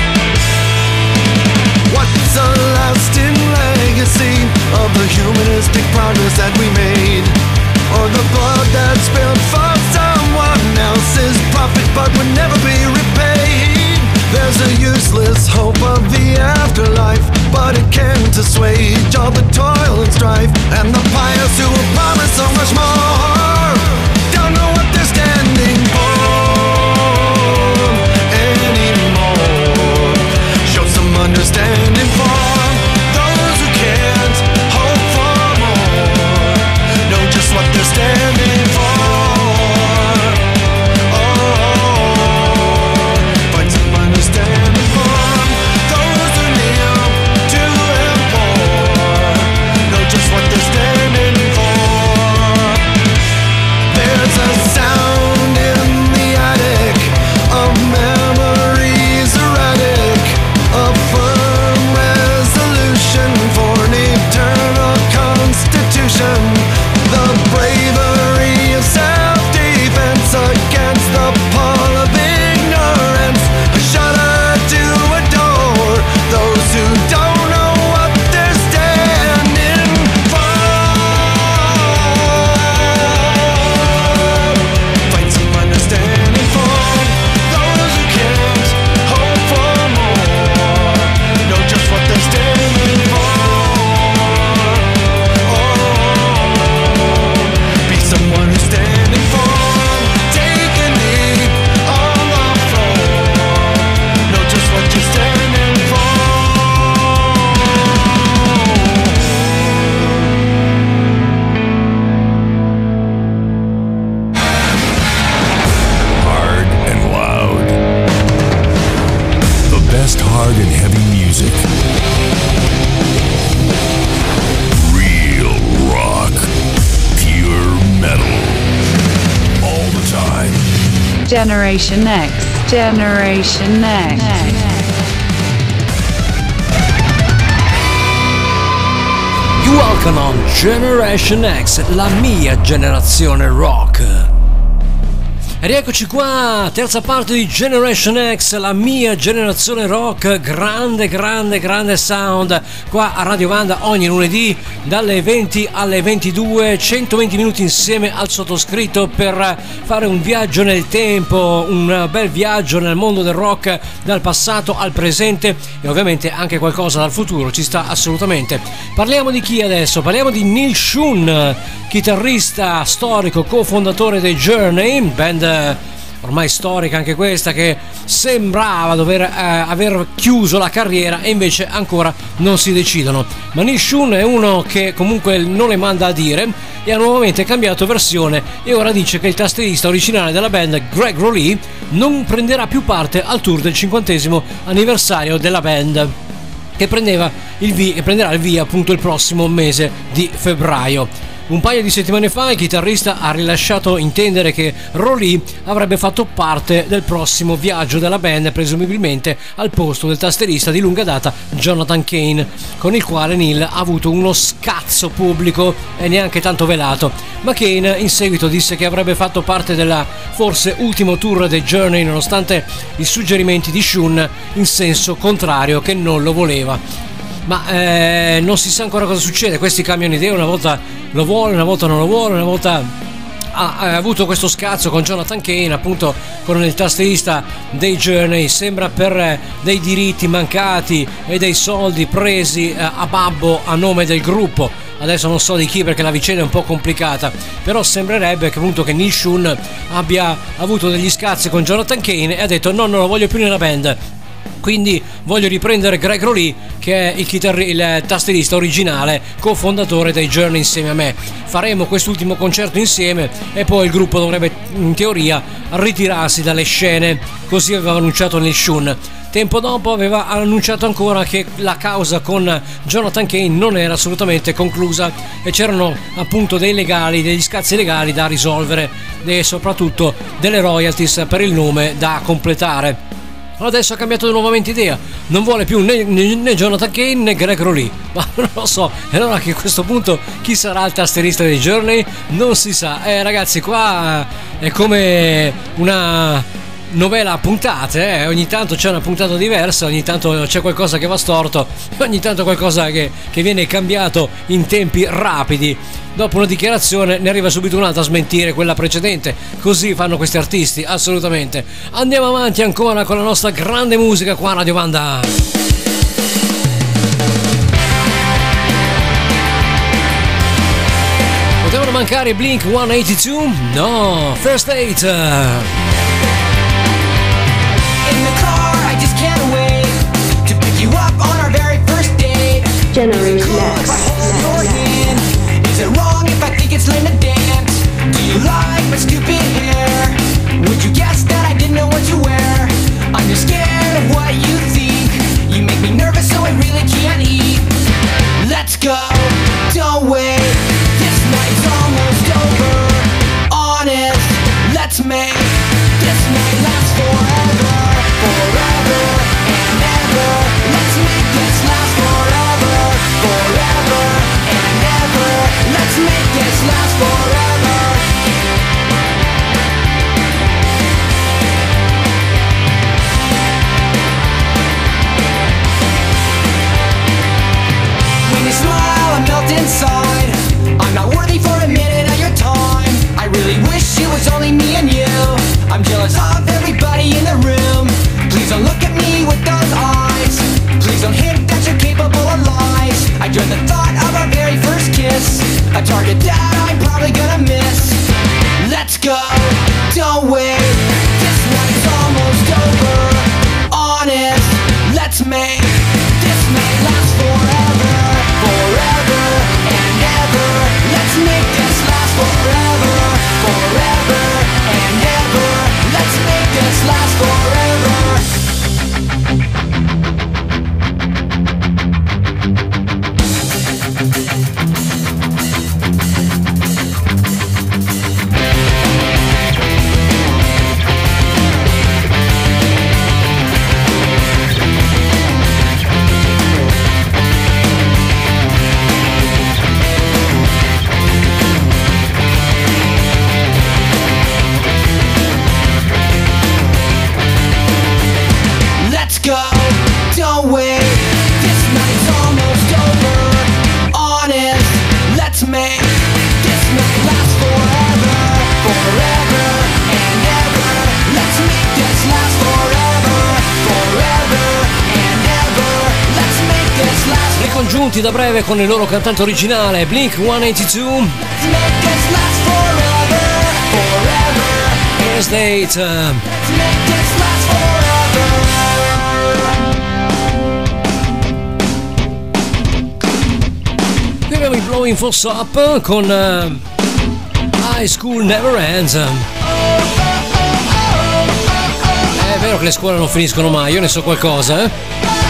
What's a lasting legacy of the humanistic progress that we made? Or the blood that's spilled for someone else's profit but would never be repaid? There's a useless hope of the afterlife, but it can't assuage all the toil and strife. And the pious who will promise so much more don't know what they're standing for anymore. Show some understanding for those who can't hope for more. Know just what they're standing for. Oh, find some understanding for those who kneel to implore. Know just what they're standing for. There's a sound in the attic of memories erratic, a firm resolution for an eternal constitution. The bravery of self-defense against the pall of ignorance. A shudder to adore those who don't know what they're standing for. Find some understanding for those who can't hope for more. Know just what they're standing for. Be someone who's standing for. Take a knee on the floor. Know just what you're standing for. Hard and loud. The best hard and heavy music. Real rock. Pure metal. All the time. Generation X, Generation X. You welcome on Generation X, la mia generazione rock. E rieccoci qua, terza parte di Generation X, la mia generazione rock, grande, grande, grande sound, qua a Radio Vanda ogni lunedì dalle venti alle ventidue, centoventi minuti insieme al sottoscritto per fare un viaggio nel tempo, un bel viaggio nel mondo del rock dal passato al presente e ovviamente anche qualcosa dal futuro, ci sta assolutamente. Parliamo di chi adesso? Parliamo di Neil Schon, chitarrista storico, cofondatore dei Journey, band ormai storica anche questa, che sembrava dover eh, aver chiuso la carriera e invece ancora non si decidono. Ma Neil Schon è uno che comunque non le manda a dire e ha nuovamente cambiato versione e ora dice che il tastierista originale della band, Greg Rowley, non prenderà più parte al tour del cinquantesimo anniversario della band, che prendeva il via, prenderà il via appunto il prossimo mese di febbraio. Un paio di settimane fa il chitarrista ha rilasciato intendere che Rowley avrebbe fatto parte del prossimo viaggio della band, presumibilmente al posto del tastierista di lunga data Jonathan Cain, con il quale Neil ha avuto uno scazzo pubblico e neanche tanto velato, ma Cain in seguito disse che avrebbe fatto parte della forse ultimo tour dei Journey nonostante i suggerimenti di Schon in senso contrario, che non lo voleva. Ma eh, non si sa ancora cosa succede, questi cambiano idea, una volta lo vuole, una volta non lo vuole, una volta ha, ha avuto questo scazzo con Jonathan Cain, appunto con il tastierista dei Journey, sembra per dei diritti mancati e dei soldi presi a babbo a nome del gruppo. Adesso non so di chi perché la vicenda è un po' complicata, però sembrerebbe che appunto che Neil Schon abbia avuto degli scazzi con Jonathan Cain e ha detto no, non lo voglio più nella band. Quindi voglio riprendere Greg Rowley, che è il, chitarri- il tastierista originale, cofondatore dei Journey insieme a me. Faremo quest'ultimo concerto insieme e poi il gruppo dovrebbe in teoria ritirarsi dalle scene, così aveva annunciato Neil Schon. Tempo dopo aveva annunciato ancora che la causa con Jonathan Cain non era assolutamente conclusa e c'erano appunto dei legali, degli scazzi legali da risolvere e soprattutto delle royalties per il nome da completare. Adesso ha cambiato nuovamente idea, non vuole più né, né, né Jonathan Cain né Greg Rowley, ma non lo so. E allora che a questo punto chi sarà il tastierista dei Journey non si sa. Eh ragazzi, qua è come una novela a puntate, eh? Ogni tanto c'è una puntata diversa, ogni tanto c'è qualcosa che va storto, ogni tanto qualcosa che, che viene cambiato in tempi rapidi. Dopo una dichiarazione ne arriva subito un'altra a smentire quella precedente. Così fanno questi artisti, assolutamente. Andiamo avanti ancora con la nostra grande musica qua a Radio Banda. Potevano mancare Blink centottantadue? No, First Date. Generation X. Is it wrong if I think it's lame to dance? Do you like my stupid hair? Would you guess that I didn't know what to wear? I'm just scared of what you think. You make me nervous so I really can't eat. Let's go, don't wait. This night's almost over. Honest, let's make this night last forever. Forever and ever. Let's make this last forever. Forever and ever. Let's make this last forever. When you smile, I melt inside. I'm not worthy for a minute of your time. I really wish it was only me and you. I'm jealous of everybody in the room. Please don't look at me with those eyes. Please don't hint that you're capable of lies. I dread the thought of our very first kiss, a target that I'm probably gonna miss. Let's go, don't wait. This night's almost over. Honest, let's make this night last forever. Forever and ever. Let's make this last forever. Forever and ever. Let's make this last forever. Congiunti da breve con il loro cantante originale Blink centottantadue. First Date. Qui abbiamo i Blowing for Up con uh, High School Never Ends. È vero che le scuole non finiscono mai, io ne so qualcosa, eh?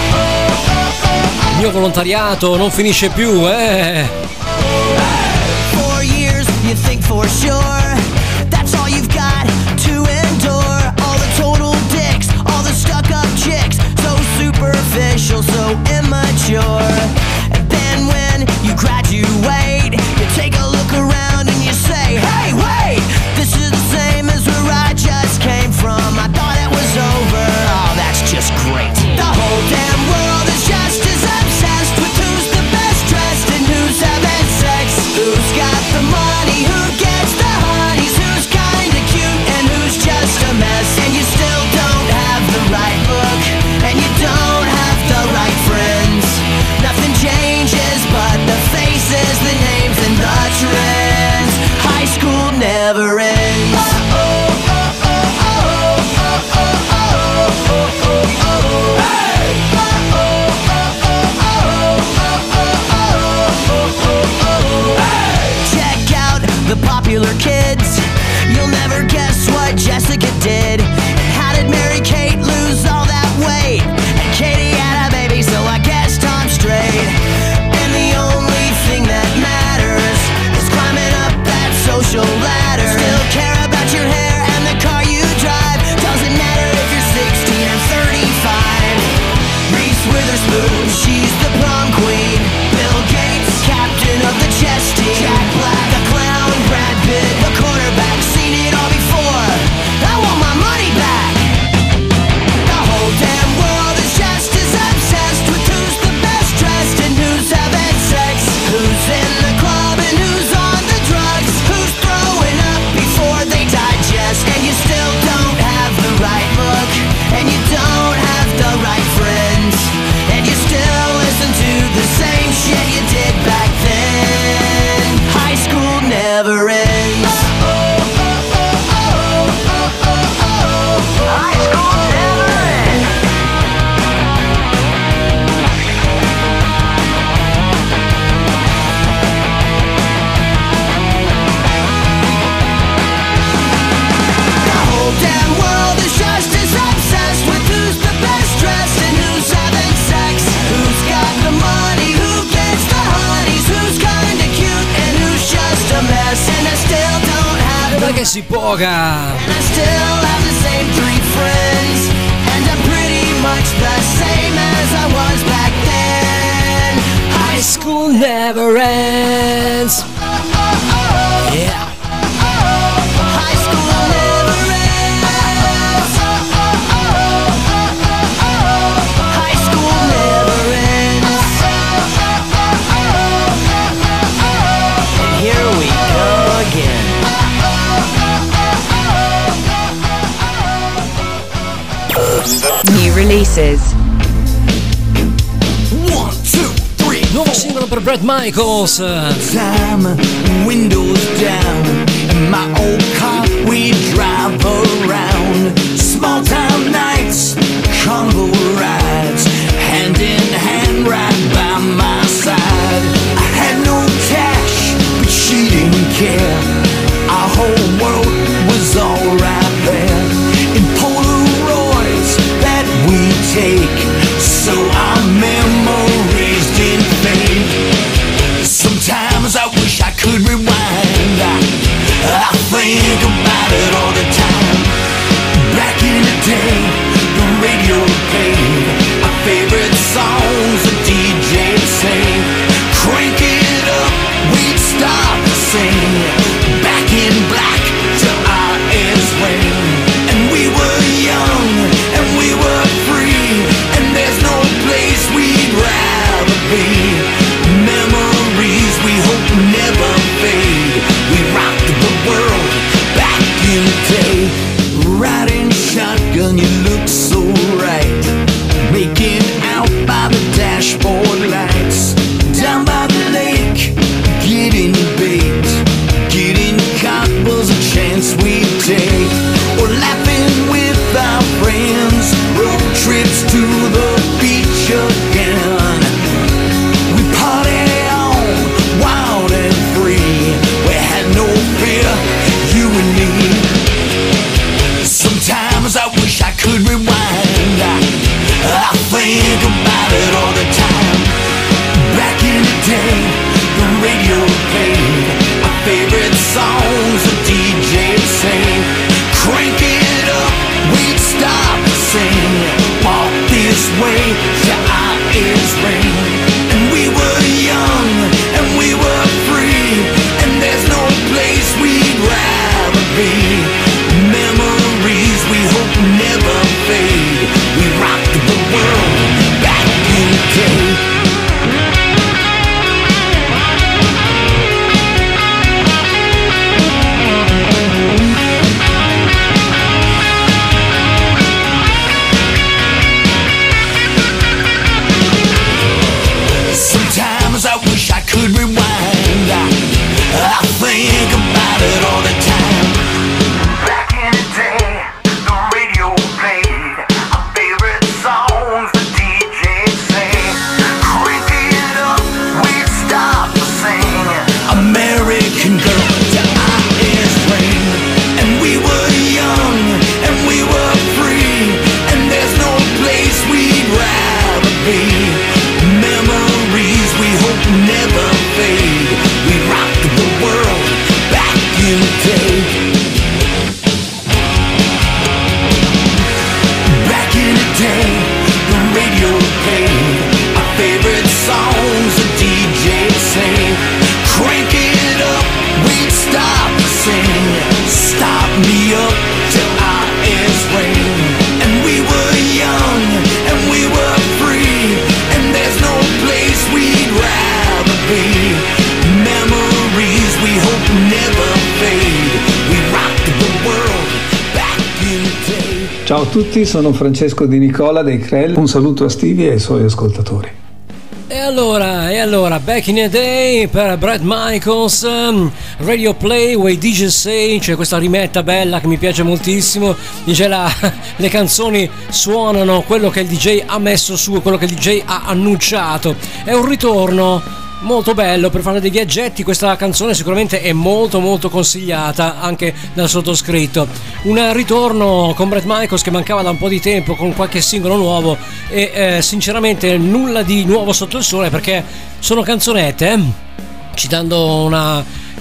Il mio volontariato non finisce più, eh. Four years, you think for sure that's all you've got to endure. All the total dicks, all the stuck-up chicks, so superficial, so immature. And then when you graduate, you take a look around and you say, hey, wait, this is the same as where I just came from. I thought it was over. Oh, that's just great. The whole damn world is just as obsessed with who's the best dressed and who's having sex. Who's got the money, who gets the honeys, Nancy Boga. And I still have the same three friends, and I'm pretty much the same as I was back then. High school never ends. Yeah. High school never ends. High school never ends. And here we go again. New releases. One, two, three. Nuovo singolo per Bret Michaels. Time, windows down, in my old car we drive around. Small town nights, convo rides, hand in hand right by my side. I had no cash, but she didn't care. Our whole world was all right there. In Polaroids that we take, so our memories didn't fade. Sometimes I wish I could rewind. I, I think about it all the time. Back in the day, the radio played our favorite songs, the D J say, crank it up, we'd start to sing. Back in black till our ears ring. And we were young, and we were free, and there's no place we'd rather be. Memories we hope never fade. We rocked the world back in the day. Riding shotgun, you look so right. Making out by the dashboard lights. Down by the lake, getting bait. Getting caught was a chance we'd take. Or laughing with our friends. Road trips to the beach again. We party on, wild and free. We had no fear, you and me. Sometimes I wish I could rewind. I, I think about it all the time. Back in the day, the radio played our favorite songs, the D J say, crank it up, we'd stop to sing. Walk this way till our ears ring. And we were young, and we were free, and there's no place we'd rather be. Memories we hope never fade. We rocked the world back in the day. Sometimes I wish I could rewind. I, I think about it all the time. Back in the day, the radio played our favorite songs, the D J say, crank it up, we'd stop to sing. American girl till our ears ring. And we were young, and we were free, and there's no place we'd rather be. Memories we hope never fade. We rocked the world back in the day. Back in the day, the radio played our favorite songs, the D J say, crank it up, we'd stop to sing. Stop me up till our ears ring. And we were young, and we were free, and there's no place we'd rather be. Memories we hope never fade. We rocked the world back in the day. Ciao a tutti, sono Francesco Di Nicola dei Krell. Un saluto a Stevie e ai suoi ascoltatori. E allora, e allora, Back in the Day per Bret Michaels, um, Radio Play, Way D J Say, c'è questa rimetta bella che mi piace moltissimo, dice la, le canzoni suonano quello che il D J ha messo su, quello che il D J ha annunciato, è un ritorno molto bello per fare dei viaggetti. Questa canzone sicuramente è molto molto consigliata anche dal sottoscritto. Un ritorno con Bret Michaels che mancava da un po' di tempo, con qualche singolo nuovo e eh, sinceramente nulla di nuovo sotto il sole, perché sono canzonette, eh? Citando una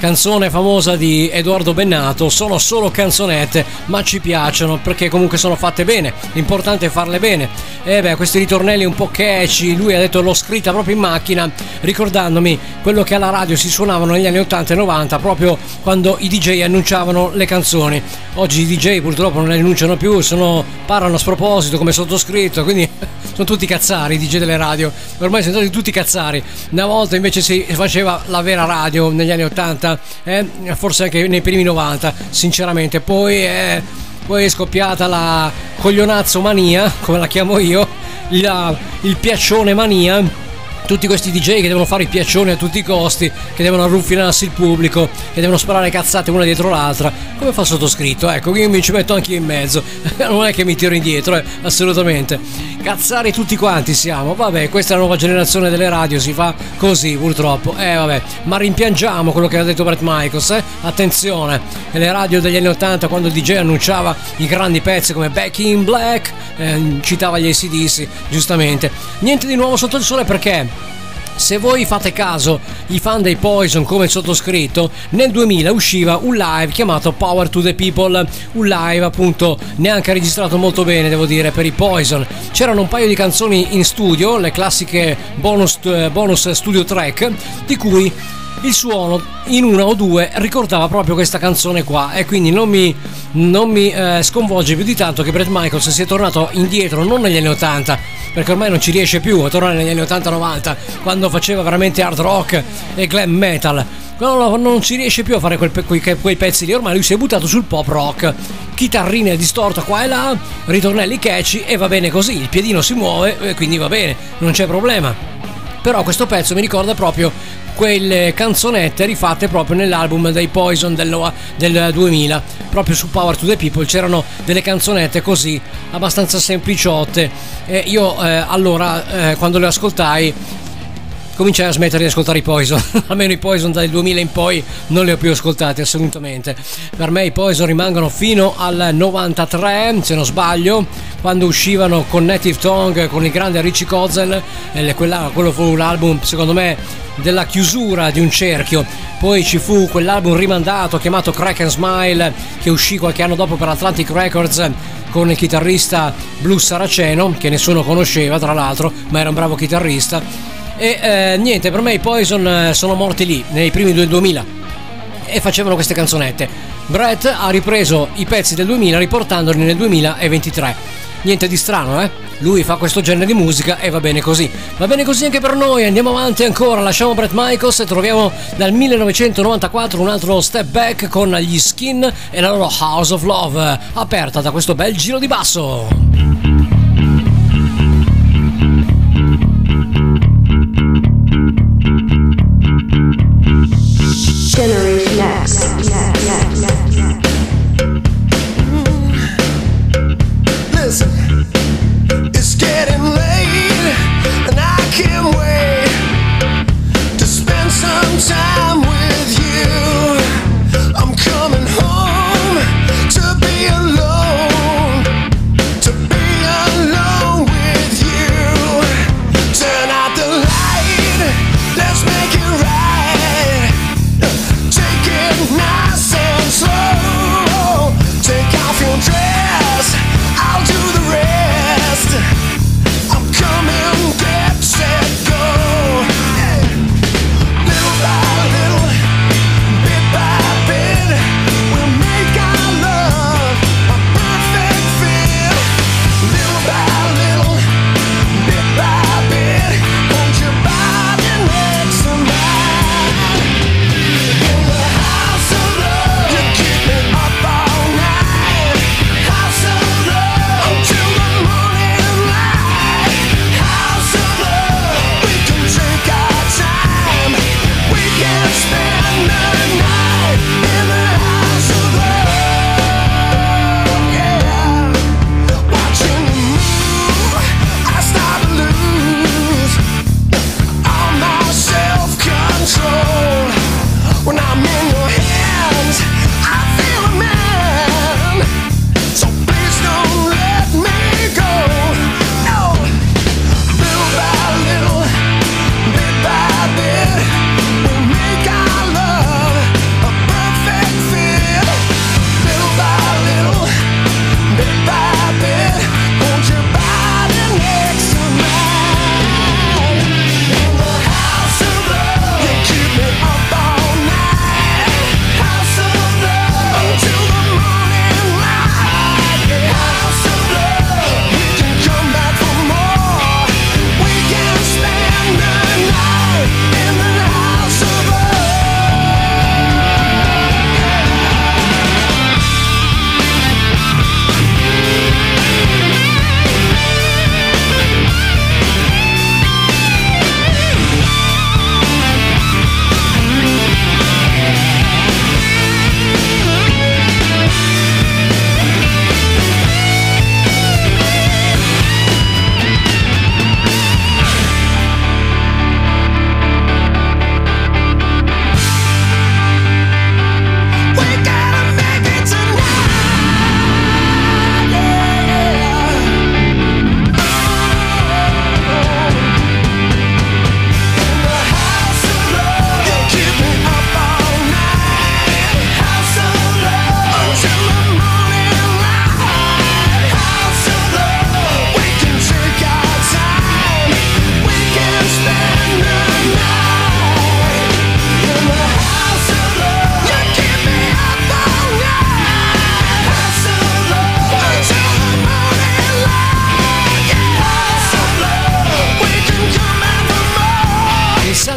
canzone famosa di Edoardo Bennato, sono solo canzonette, ma ci piacciono perché comunque sono fatte bene, l'importante è farle bene. E beh, questi ritornelli un po' catchy, lui ha detto l'ho scritta proprio in macchina, ricordandomi quello che alla radio si suonavano negli anni ottanta e novanta, proprio quando i D J annunciavano le canzoni. Oggi i D J purtroppo non le annunciano più, sono, parlano a sproposito come sottoscritto, quindi sono tutti cazzari i D J delle radio, ormai sono stati tutti cazzari. Una volta invece si faceva la vera radio negli anni ottanta, eh? Forse anche nei primi novanta, sinceramente. Poi è, poi è scoppiata la coglionazzo mania, come la chiamo io, la, il piaccione mania. Tutti questi D J che devono fare i piaccioni a tutti i costi, che devono arruffinarsi il pubblico, che devono sparare cazzate una dietro l'altra, come fa il sottoscritto. Ecco, io mi ci metto anche io in mezzo, non è che mi tiro indietro, eh, assolutamente. Cazzari tutti quanti siamo, vabbè, questa è la nuova generazione delle radio, si fa così purtroppo, eh vabbè, ma rimpiangiamo quello che ha detto Bret Michaels, eh? Attenzione, le radio degli anni ottanta, quando il D J annunciava i grandi pezzi come Back in Black, eh, citava gli A C D C, giustamente. Niente di nuovo sotto il sole, perché se voi fate caso, i fan dei Poison come il sottoscritto, nel duemila usciva un live chiamato Power to the People, un live appunto neanche registrato molto bene, devo dire, per i Poison. C'erano un paio di canzoni in studio, le classiche bonus, bonus studio track, di cui il suono in una o due ricordava proprio questa canzone qua, e quindi non mi, non mi eh, sconvolge più di tanto che Bret Michaels sia tornato indietro, non negli anni ottanta, perché ormai non ci riesce più a tornare negli anni ottanta novanta, quando faceva veramente hard rock e glam metal. No, non ci riesce più a fare quel, quei, quei pezzi lì, ormai lui si è buttato sul pop rock, chitarrine distorta qua e là, ritornelli catchy, e va bene così, il piedino si muove e quindi va bene, non c'è problema. Però questo pezzo mi ricorda proprio quelle canzonette rifatte proprio nell'album dei Poison del, del duemila, proprio su Power to the People c'erano delle canzonette così abbastanza sempliciotte, e io eh, allora eh, quando le ascoltai cominciai a smettere di ascoltare i Poison. Almeno i Poison dal duemila in poi non li ho più ascoltati assolutamente. Per me i Poison rimangono fino al novantatré, se non sbaglio, quando uscivano con Native Tongue, con il grande Richie Kotzen, e quella, quello fu un album secondo me della chiusura di un cerchio. Poi ci fu quell'album rimandato chiamato Crack and Smile, che uscì qualche anno dopo per Atlantic Records, con il chitarrista blues saraceno, che nessuno conosceva tra l'altro, ma era un bravo chitarrista. E eh, niente, per me i Poison sono morti lì nei primi del duemila e facevano queste canzonette. Bret ha ripreso i pezzi del duemila riportandoli nel duemilaventitré. Niente di strano, eh? Lui fa questo genere di musica e va bene così. Va bene così anche per noi, andiamo avanti ancora, lasciamo Bret Michaels e troviamo dal millenovecentonovantaquattro un altro step back con gli Skin e la loro House of Love, aperta da questo bel giro di basso. Generation X. Listen, it's getting late, and I can't wait to spend some time with you. I'm coming home to be alone, to be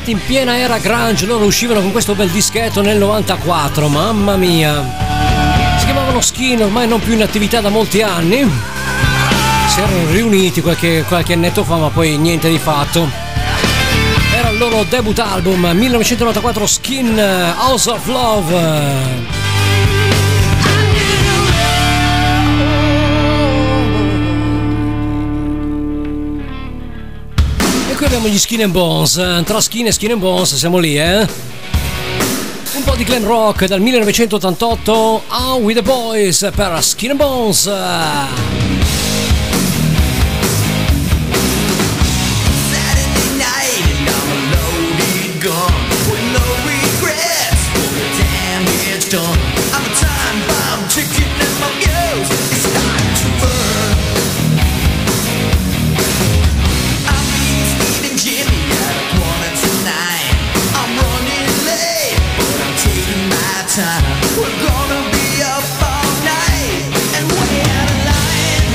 infatti in piena era grunge, loro uscivano con questo bel dischetto nel novantaquattro, mamma mia. Si chiamavano Skin, ormai non più in attività da molti anni. Si erano riuniti qualche, qualche annetto fa, ma poi niente di fatto. Era il loro debut album millenovecentonovantaquattro, Skin, House of Love. Qui abbiamo gli Skin and Bones, tra Skin e Skin and Bones siamo lì, eh? Un po' di glam rock dal millenovecentottantotto, Out with the Boys per Skin and Bones. Saturday night and I'm a loaded gun with no regrets for the damn it's done. I'm a time bomb ticking in my fuse. It's time to burn. Jimmy at a quarter to nine. I'm running late, but I'm taking my time. We're gonna be up all night and way out of line.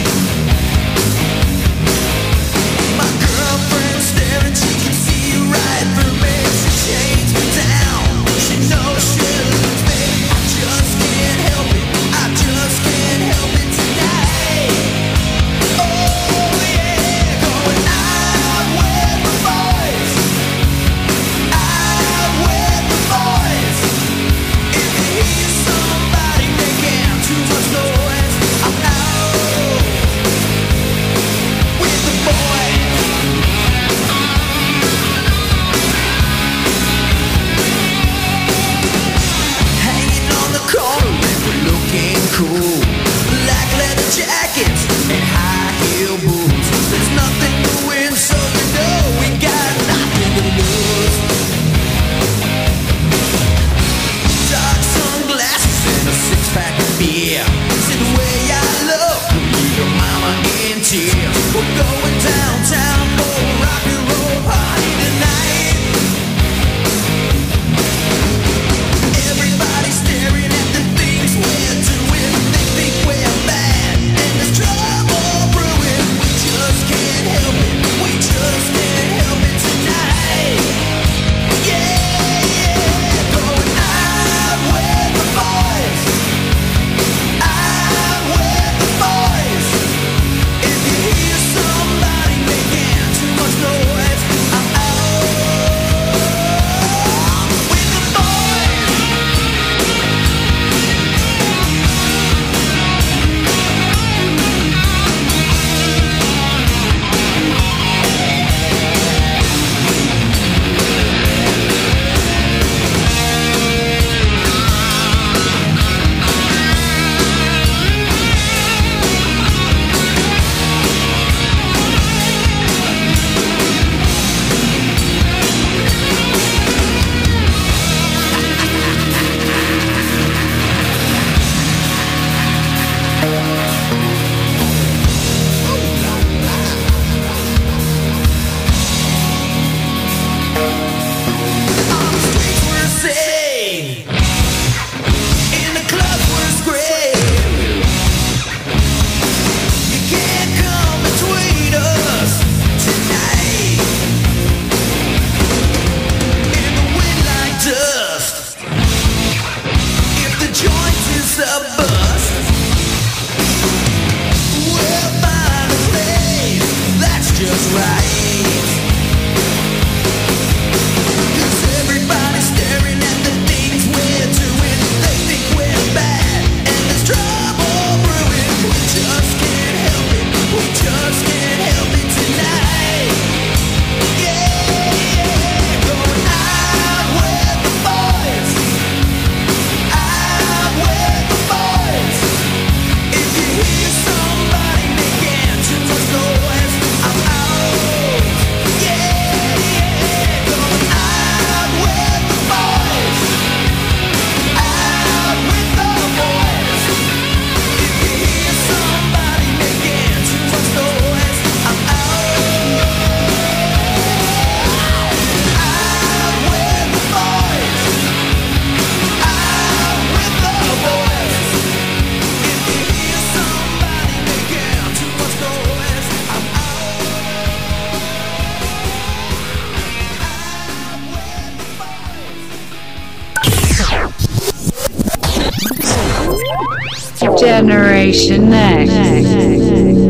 Generation Next.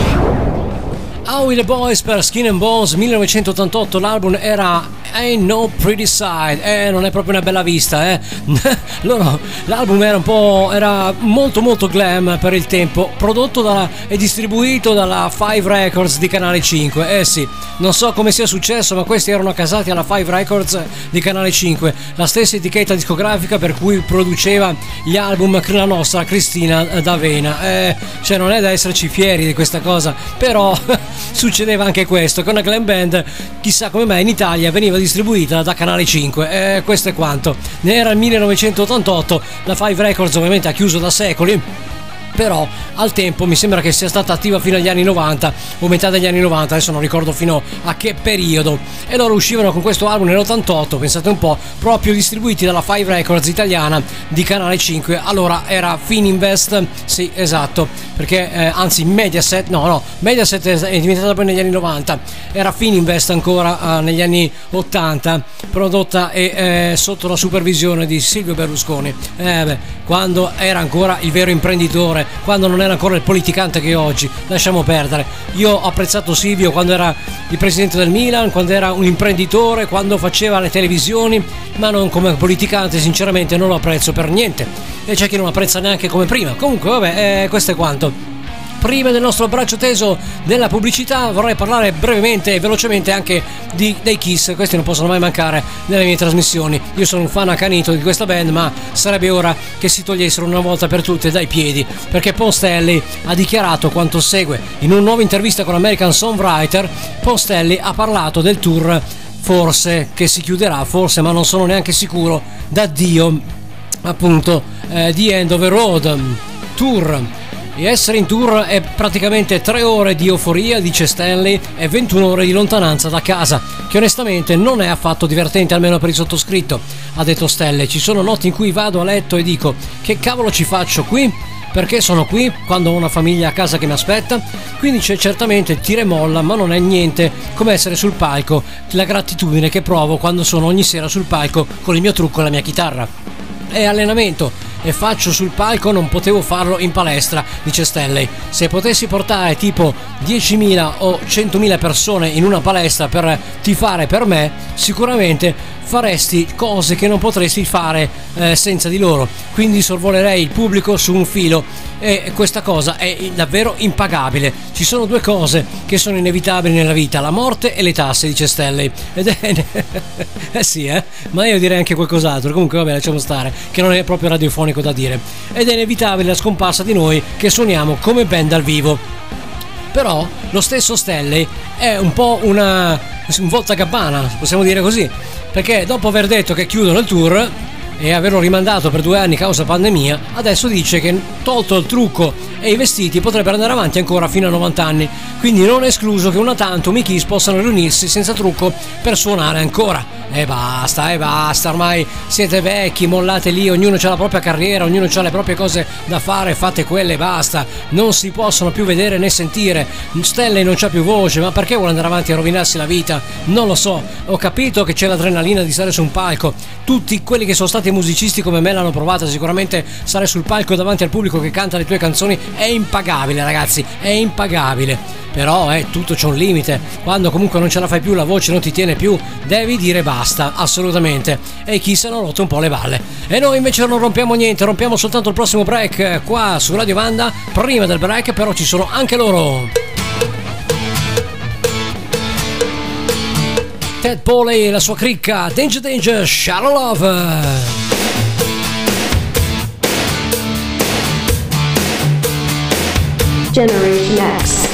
Howie the Boys per Skin and Bones millenovecentottantotto, l'album era Ain't No Pretty Side, eh non è proprio una bella vista, eh loro, l'album era un po', era molto molto glam per il tempo, prodotto dalla, e distribuito dalla Five Records di Canale cinque, eh sì, non so come sia successo ma questi erano casati alla Five Records di Canale cinque, la stessa etichetta discografica per cui produceva gli album la nostra Cristina D'Avena, eh, cioè non è da esserci fieri di questa cosa, però succedeva anche questo, che una glam band chissà come mai in Italia veniva distribuita da Canale cinque, e questo è quanto. Ne era il millenovecentottantotto, la Five Records ovviamente ha chiuso da secoli, però al tempo mi sembra che sia stata attiva fino agli anni novanta o metà degli anni novanta, adesso non ricordo fino a che periodo, e loro uscivano con questo album nell'ottantotto, pensate un po', proprio distribuiti dalla Five Records italiana di Canale cinque, allora era Fininvest, sì esatto, perché eh, anzi Mediaset, no no, Mediaset è diventata poi negli anni novanta, era Fininvest ancora eh, negli anni ottanta, prodotta e eh, sotto la supervisione di Silvio Berlusconi, eh, beh, quando era ancora il vero imprenditore, quando non era ancora il politicante che è oggi, lasciamo perdere. Io ho apprezzato Silvio quando era il presidente del Milan, quando era un imprenditore, quando faceva le televisioni, ma non come politicante, sinceramente non lo apprezzo per niente, e c'è chi non apprezza neanche come prima. Comunque vabbè, eh, questo è quanto. Prima del nostro braccio teso della pubblicità vorrei parlare brevemente e velocemente anche di, dei Kiss, questi non possono mai mancare nelle mie trasmissioni. Io sono un fan accanito di questa band, ma sarebbe ora che si togliessero una volta per tutte dai piedi, perché Paul Stanley ha dichiarato quanto segue. In una nuova intervista con American Songwriter, Paul Stanley ha parlato del tour, forse che si chiuderà, forse, ma non sono neanche sicuro, d'addio appunto eh, di End of a Road Tour. E essere in tour è praticamente tre ore di euforia, dice Stanley, e ventuno ore di lontananza da casa, che onestamente non è affatto divertente, almeno per il sottoscritto, ha detto Stanley. Ci sono notti in cui vado a letto e dico: che cavolo ci faccio qui? Perché sono qui quando ho una famiglia a casa che mi aspetta? Quindi c'è certamente tira e molla, ma non è niente come essere sul palco, la gratitudine che provo quando sono ogni sera sul palco con il mio trucco e la mia chitarra. È allenamento e faccio sul palco, non potevo farlo in palestra, dice Stanley. Se potessi portare tipo diecimila o centomila persone in una palestra per tifare per me, sicuramente faresti cose che non potresti fare eh, senza di loro, quindi sorvolerei il pubblico su un filo, e questa cosa è davvero impagabile. Ci sono due cose che sono inevitabili nella vita: la morte e le tasse, dice Stanley. Ed è eh sì, eh ma io direi anche qualcos'altro. Comunque vabbè, lasciamo stare, che non è proprio radiofonico da dire. Ed è inevitabile la scomparsa di noi che suoniamo come band dal vivo. Però lo stesso Stanley è un po' una un voltagabbana, possiamo dire così, perché dopo aver detto che chiudono il tour e averlo rimandato per due anni causa pandemia, adesso dice che tolto il trucco e i vestiti potrebbero andare avanti ancora fino a novanta anni, quindi non è escluso che una tanto i Kiss possano riunirsi senza trucco per suonare ancora. E basta, e basta, ormai siete vecchi, mollate lì, ognuno ha la propria carriera, ognuno ha le proprie cose da fare, fate quelle e basta, non si possono più vedere né sentire. Stanley non c'ha più voce, ma perché vuole andare avanti a rovinarsi la vita? Non lo so, ho capito che c'è l'adrenalina di stare su un palco, tutti quelli che sono stati musicisti come me l'hanno provata, sicuramente stare sul palco davanti al pubblico che canta le tue canzoni è impagabile, ragazzi, è impagabile. Però eh, tutto c'è un limite, quando comunque non ce la fai più, la voce non ti tiene più, devi dire basta, assolutamente. E chi se ne ha rotto un po' le balle. E noi invece non rompiamo niente, rompiamo soltanto il prossimo break qua su Radio Vanda. Prima del break però ci sono anche loro. Ted Poley e la sua cricca, Danger Danger, Shallow Love. Generation X.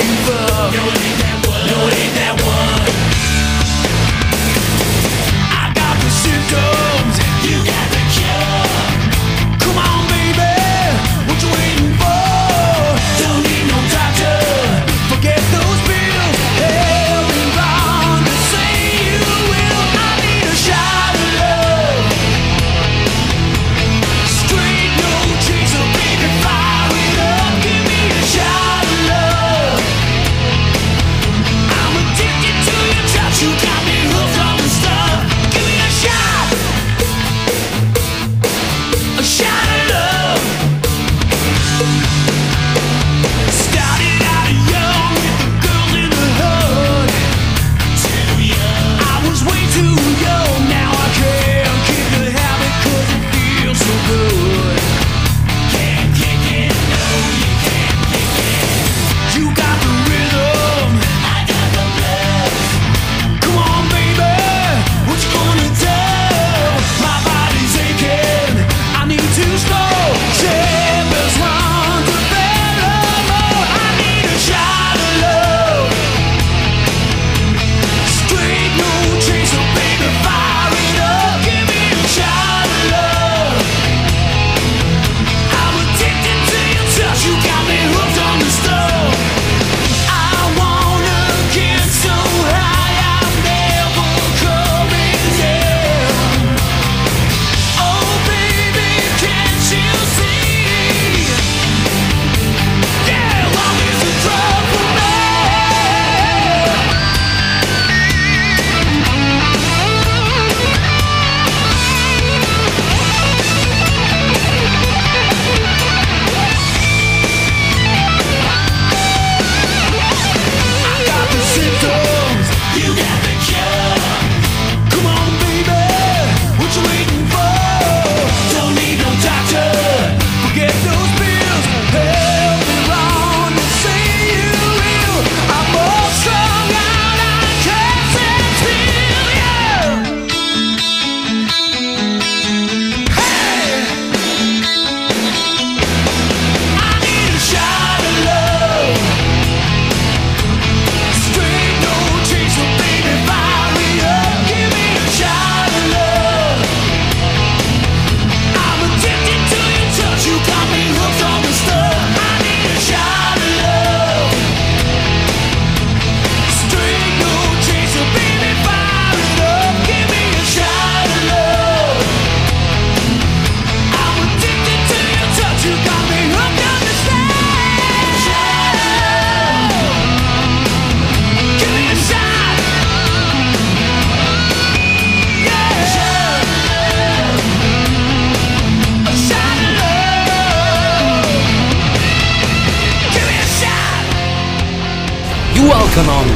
I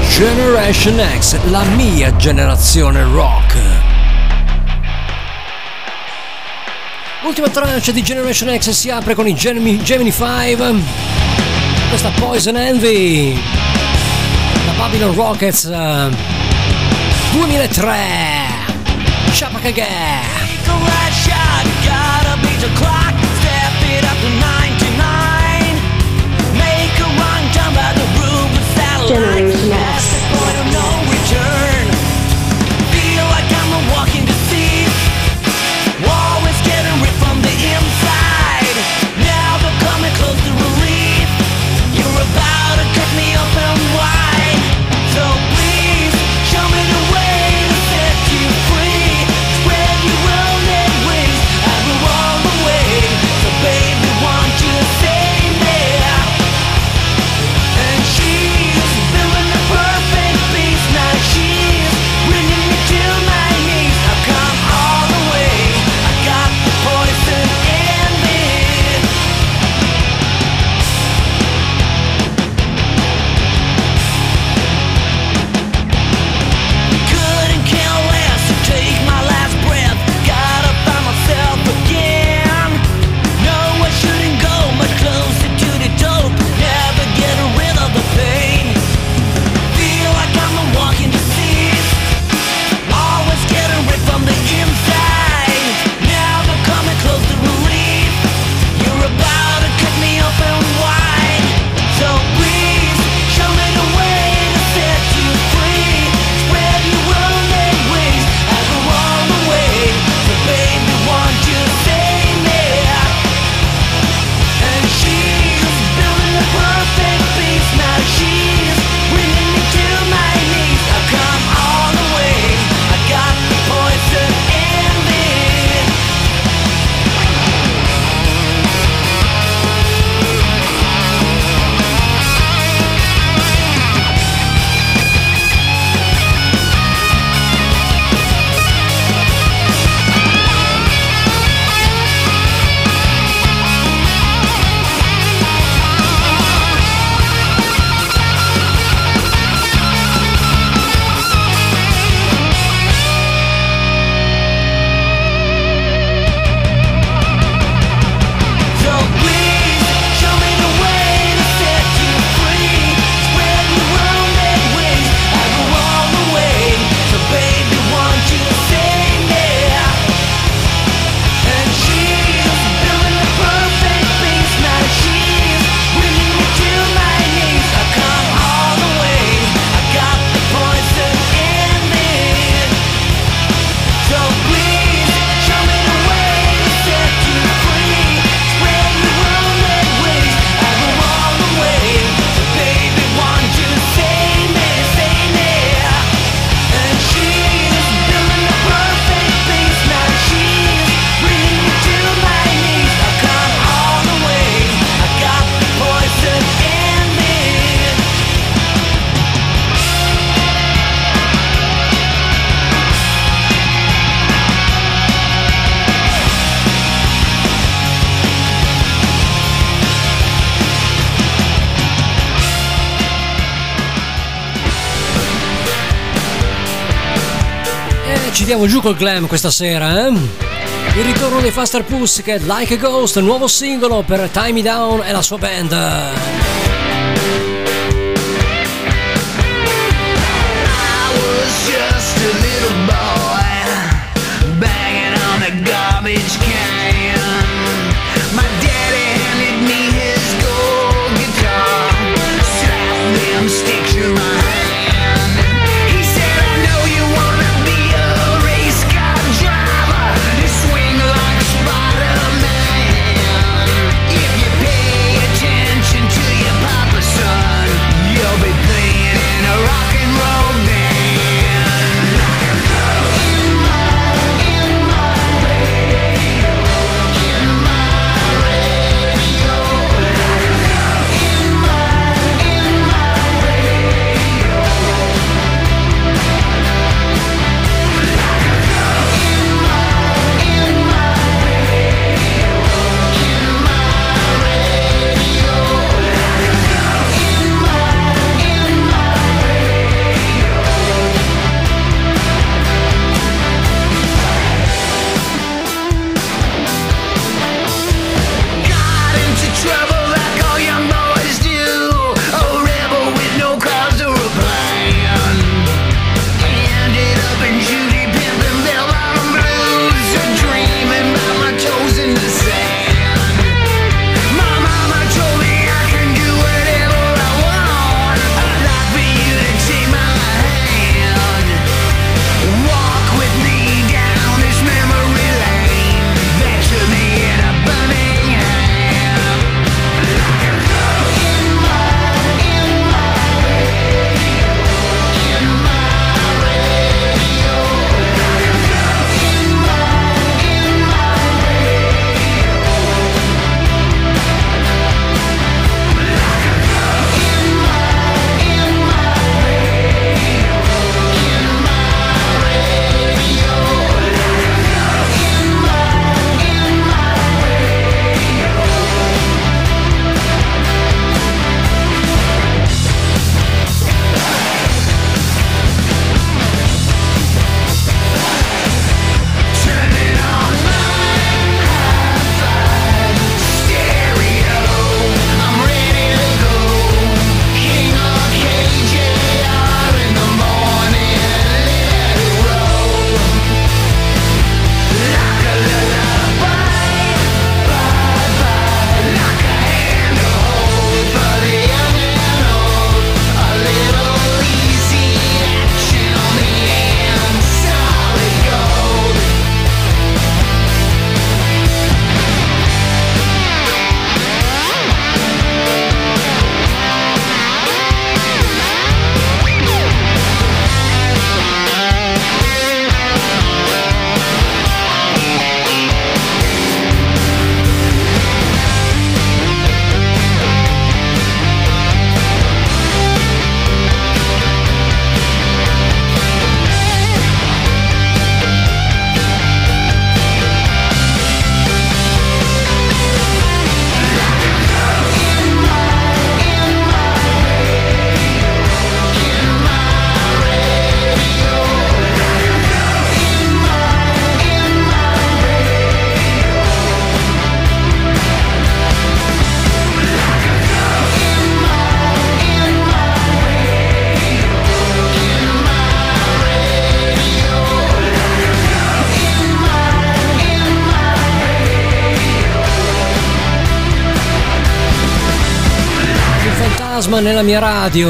Generation X, la mia generazione rock. L'ultima tranche di Generation X si apre con i Gemini, Gemini cinque, questa Poison Envy, la Babylon Rockets uh, duemilatré, Chapakagè. Generation X. Ci diamo giù col glam questa sera, eh? Il ritorno dei Faster Pussycat, Like a Ghost, nuovo singolo per Tie Me Down e la sua band. Garbage can. My daddy handed me his gold guitar. Slap them sticks in my hand. He said, I know you wanna be a race car driver. You swing like Spider-Man. If you pay attention to your Fantasma nella mia radio.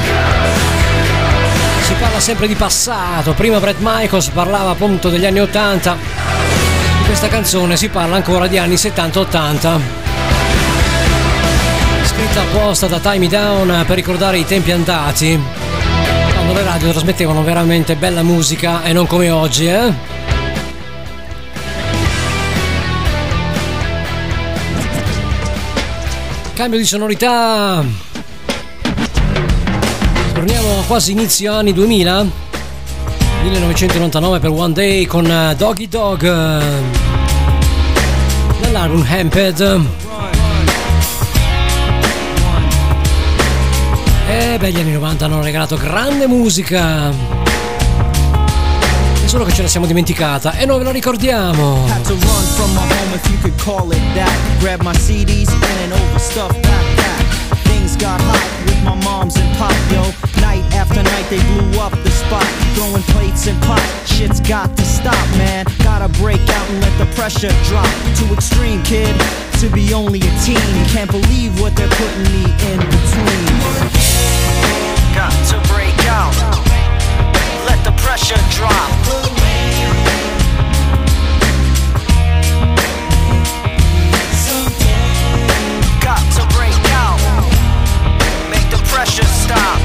Si parla sempre di passato. Prima Bret Michaels parlava appunto degli anni ottanta. In questa canzone si parla ancora di anni settanta ottanta. Scritta apposta da Tie Me Down per ricordare i tempi andati, quando le radio trasmettevano veramente bella musica e non come oggi, eh? Cambio di sonorità. Torniamo a quasi inizio anni duemila, millenovecentonovantanove per One Day con Doggy Dog dall'album Hamped. E beh, gli anni novanta hanno regalato grande musica, solo che ce la siamo dimenticata e non ve lo ricordiamo. Had to run from my home, if you could call it that. Grab my C Ds in an overstuffed backpack. Things got hot with my moms and pop, yo. Night after night they blew up the spot, throwing plates and pot. Shit's got to stop, man. Gotta break out and let the pressure drop. Too extreme, kid, to be only a teen. Can't believe what they're putting me in between. Got to break out, let the pressure drop. Got to break out, make the pressure stop.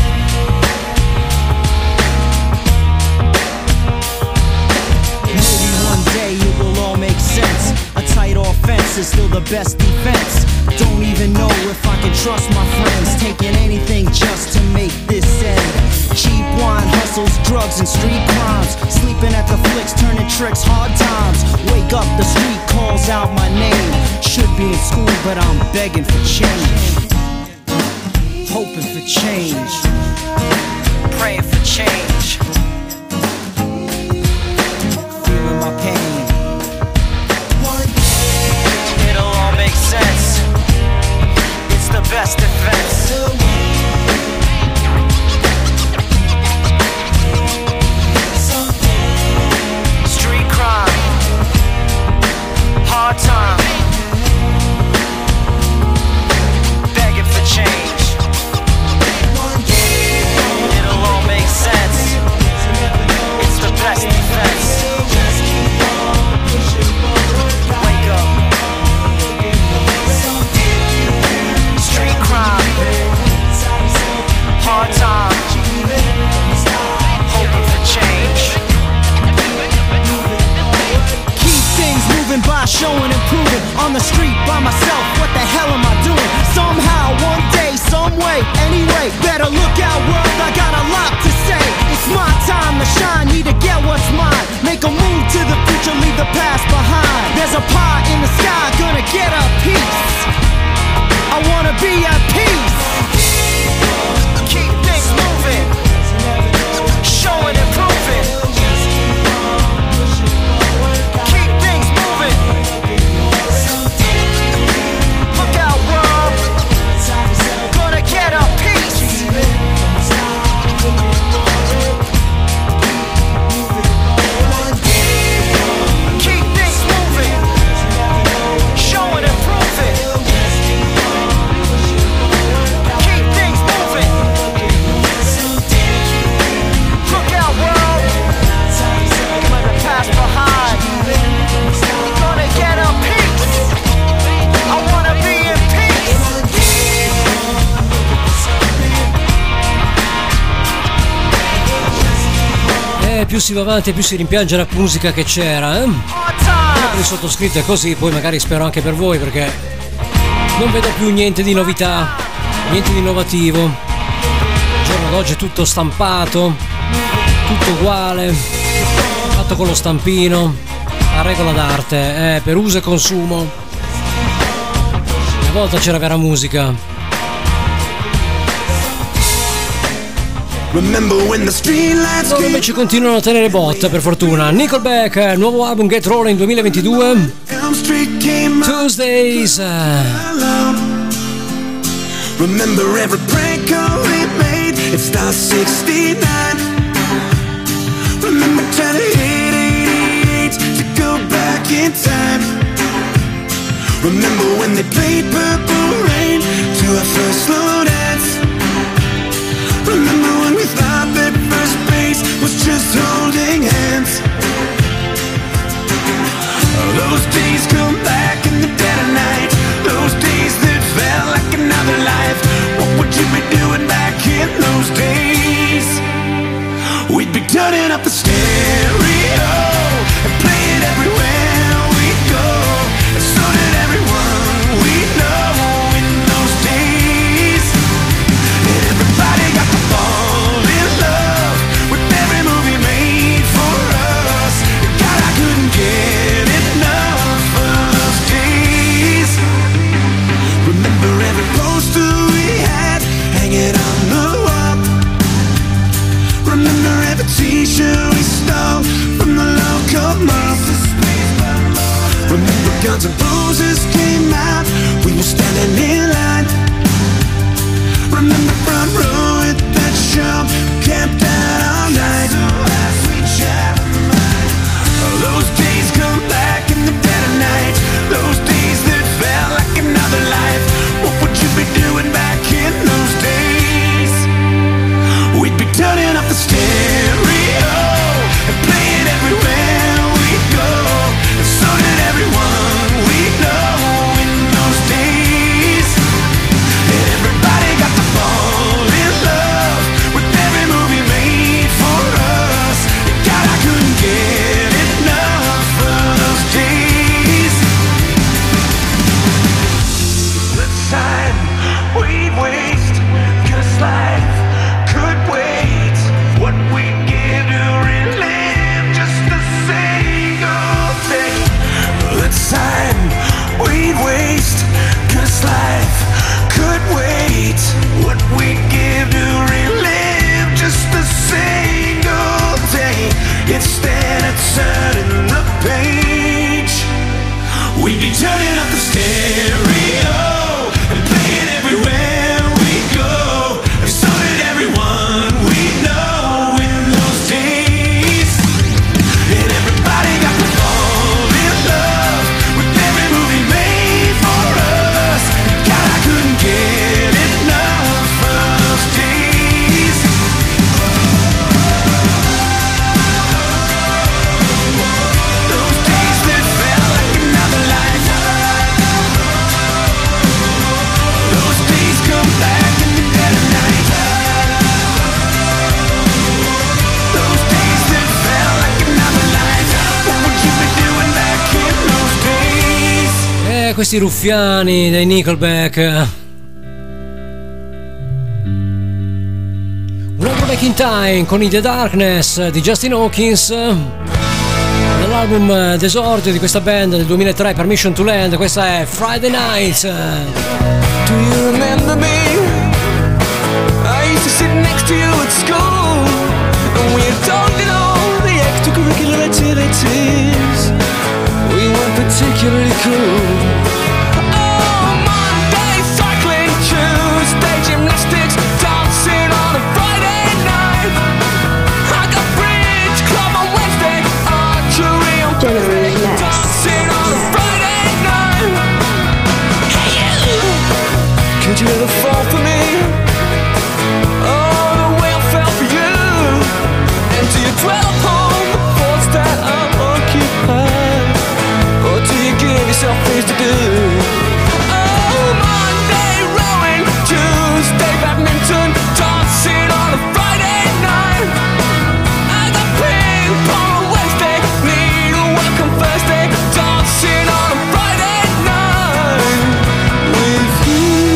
Maybe one day it will all make sense. A tight offense is still the best defense. Don't even know if I can trust my friends, taking anything just to make this end. Cheap wine, hustles, drugs, and street crimes. Sleeping at the flicks, turning tricks, hard times. Wake up, the street calls out my name. Should be in school, but I'm begging for change. Hoping for change. Praying for change. Feeling my pain. It'll all make sense. It's the best defense. Street crime, hard time, begging for change. It'll all make sense. It's the best defense. Wake up. Street crime, hard time, hoping for change. Keep things moving by showing and proving. On the street by myself, what the hell am I doing? Somehow, one day, some way, anyway. Better look out, world, I got a lot to say. It's my time to shine, need to get what's mine. Make a move to the future, leave the past behind. There's a pie in the sky, gonna get a piece. I wanna be at peace. Keep things moving, showing and proving. Keep things moving. Look out, world, gonna get a piece. Keep things moving, showing and proving. Keep things moving. Look out, world, let the past behind. Gonna get a piece. I wanna be in peace. Eh, più si va avanti e più si rimpiange la musica che c'era, eh? Il sottoscritto è così, poi magari spero anche per voi, perché non vedo più niente di novità, niente di innovativo. Il giorno d'oggi è tutto stampato, tutto uguale, fatto con lo stampino, a regola d'arte, eh, per uso e consumo. Una volta c'era vera musica. Loro invece continuano a tenere botta, per fortuna. Nickelback, nuovo album Get Rolling duemilaventidue. Tuesdays. Remember every prank call we made. It starts sixty-nine. Remember trying to hit eighty-eight to go back in time. Remember when they played Purple Rain to our first slow dance. just holding hands. Those days come back in the dead of night. Those days that felt like another life. What would you be doing back in those days? We'd be turning up the stereo and play it everywhere we go. And so did everyone we know in those days. And everybody got to fall in love with every movie made for us. And God, I couldn't get enough of those days. Remember every poster we had hanging on the wall. Remember every t-shirt we stole from the local mall. Remember Guns N' Roses came out, we were standing in line. Remember front row at that show, camped out all night. Those days come back in the dead of night. Those days that felt like another life. What would you be doing back in those days? We'd be turning up the stereo and play it everywhere we go. And so did everyone we know in those days. And everybody got to fall in love with every movie made for us. And God, I couldn't get enough of those days. The time we'd waste, 'cause life could wait. What we'd give to relive just a single day. The time we'd waste, 'cause life could wait. What we'd give to relive just a single day. Instead of turning the page, we'd be turning up the stereo and playing everywhere we go. And so did everyone we know in those days. And everybody got to fall in love with every movie made for us. God, I couldn't get enough of those days. Those days that felt like another life. Those days come back in the dead of night. Those days that felt like another life. What would you be doing back in those days? Eh, questi ruffiani dei Nickelback. Un altro Back in Time con In the Darkness di Justin Hawkins, nell'album d'esordio di questa band del duemilatré, Permission to Land. Questa è Friday Night. Do you remember me? I used to sit next to you at school, and we indulged in all the extracurricular activities. We weren't particularly cool. Oh, Monday cycling, Tuesday gymnastics, dancing on a Friday night. I got bridge club on Wednesday, archery on Thursday, dancing on a Friday night. Hey, you! Could you ever fall for me? Oh, the way I fell for you. And do you dwell upon the thoughts that are occupied? Or do you give yourself things to do? Oh, Monday rowing, Tuesday badminton, dancing on a Friday night. I got ping pong on Wednesday, needlework on Thursday, dancing on a Friday night with you.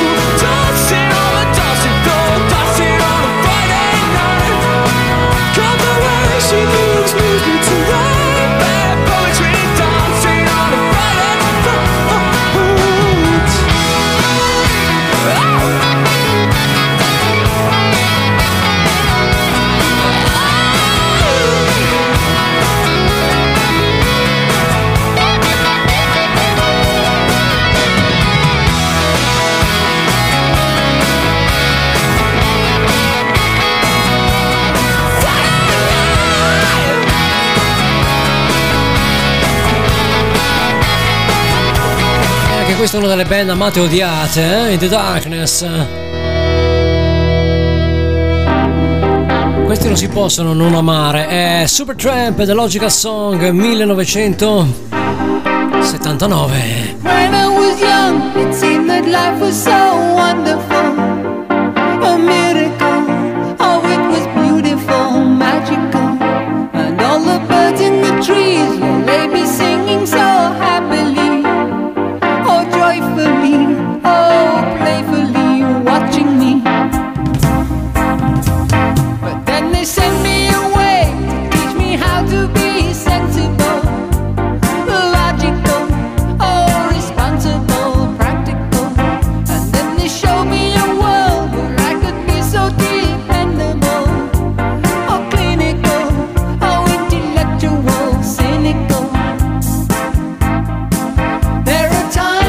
Dancing on the dancing floor, dancing on a Friday night. Questa è una delle band amate e odiate, eh? In the Darkness. Questi non si possono non amare. È Supertramp, The Logical Song millenovecentosettantanove. When I was young, it seemed that life was so wonderful, a miracle. Oh, it was beautiful, magical, and all the birds in the trees they be singing so happily. Joyfully, oh, playfully watching me. But then they sent me away to teach me how to be sensible, logical, oh, responsible, practical. And then they showed me a world where I could be so dependable, oh, clinical, oh, intellectual, cynical. There are times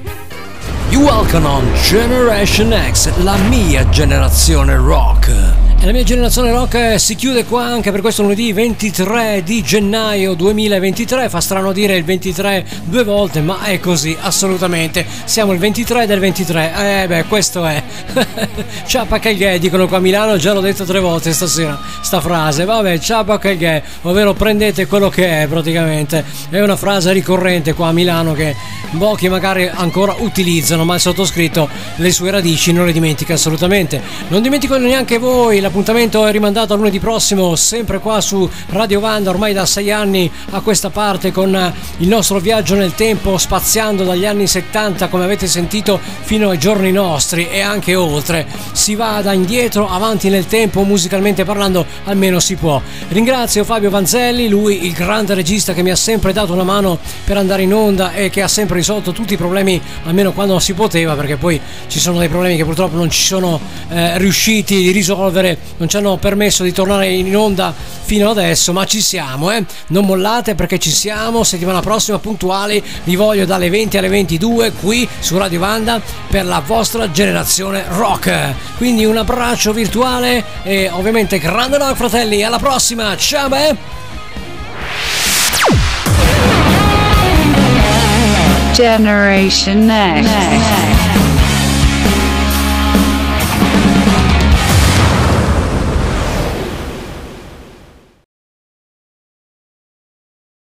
Welcome on Generation X, la mia generazione rock. E la mia generazione rock si chiude qua anche per questo lunedì ventitré di gennaio duemilaventitré. Fa strano dire il ventitré due volte, ma è così, assolutamente. Siamo il ventitré del ventitré. Eh beh, questo è. Ciappa che gay, dicono qua a Milano, già l'ho detto tre volte stasera sta frase. Vabbè, ciappa che gay, ovvero prendete quello che è praticamente. È una frase ricorrente qua a Milano che pochi magari ancora utilizzano, ma il sottoscritto le sue radici non le dimentica assolutamente. Non dimentico neanche voi. L'appuntamento è rimandato a lunedì prossimo, sempre qua su Radio Vanda, ormai da sei anni a questa parte, con il nostro viaggio nel tempo, spaziando dagli anni settanta, come avete sentito, fino ai giorni nostri e anche oltre. Si vada indietro, avanti nel tempo, musicalmente parlando, almeno si può. Ringrazio Fabio Vanzelli, lui il grande regista che mi ha sempre dato una mano per andare in onda e che ha sempre risolto tutti i problemi, almeno quando si poteva, perché poi ci sono dei problemi che purtroppo non ci sono eh, riusciti a risolvere, non ci hanno permesso di tornare in onda fino adesso, ma ci siamo, eh? Non mollate, perché ci siamo. Settimana prossima puntuali vi voglio dalle venti alle ventidue qui su Radio Vanda per la vostra generazione rock. Quindi un abbraccio virtuale e ovviamente grande rock, fratelli. Alla prossima, ciao beh. Generation Next.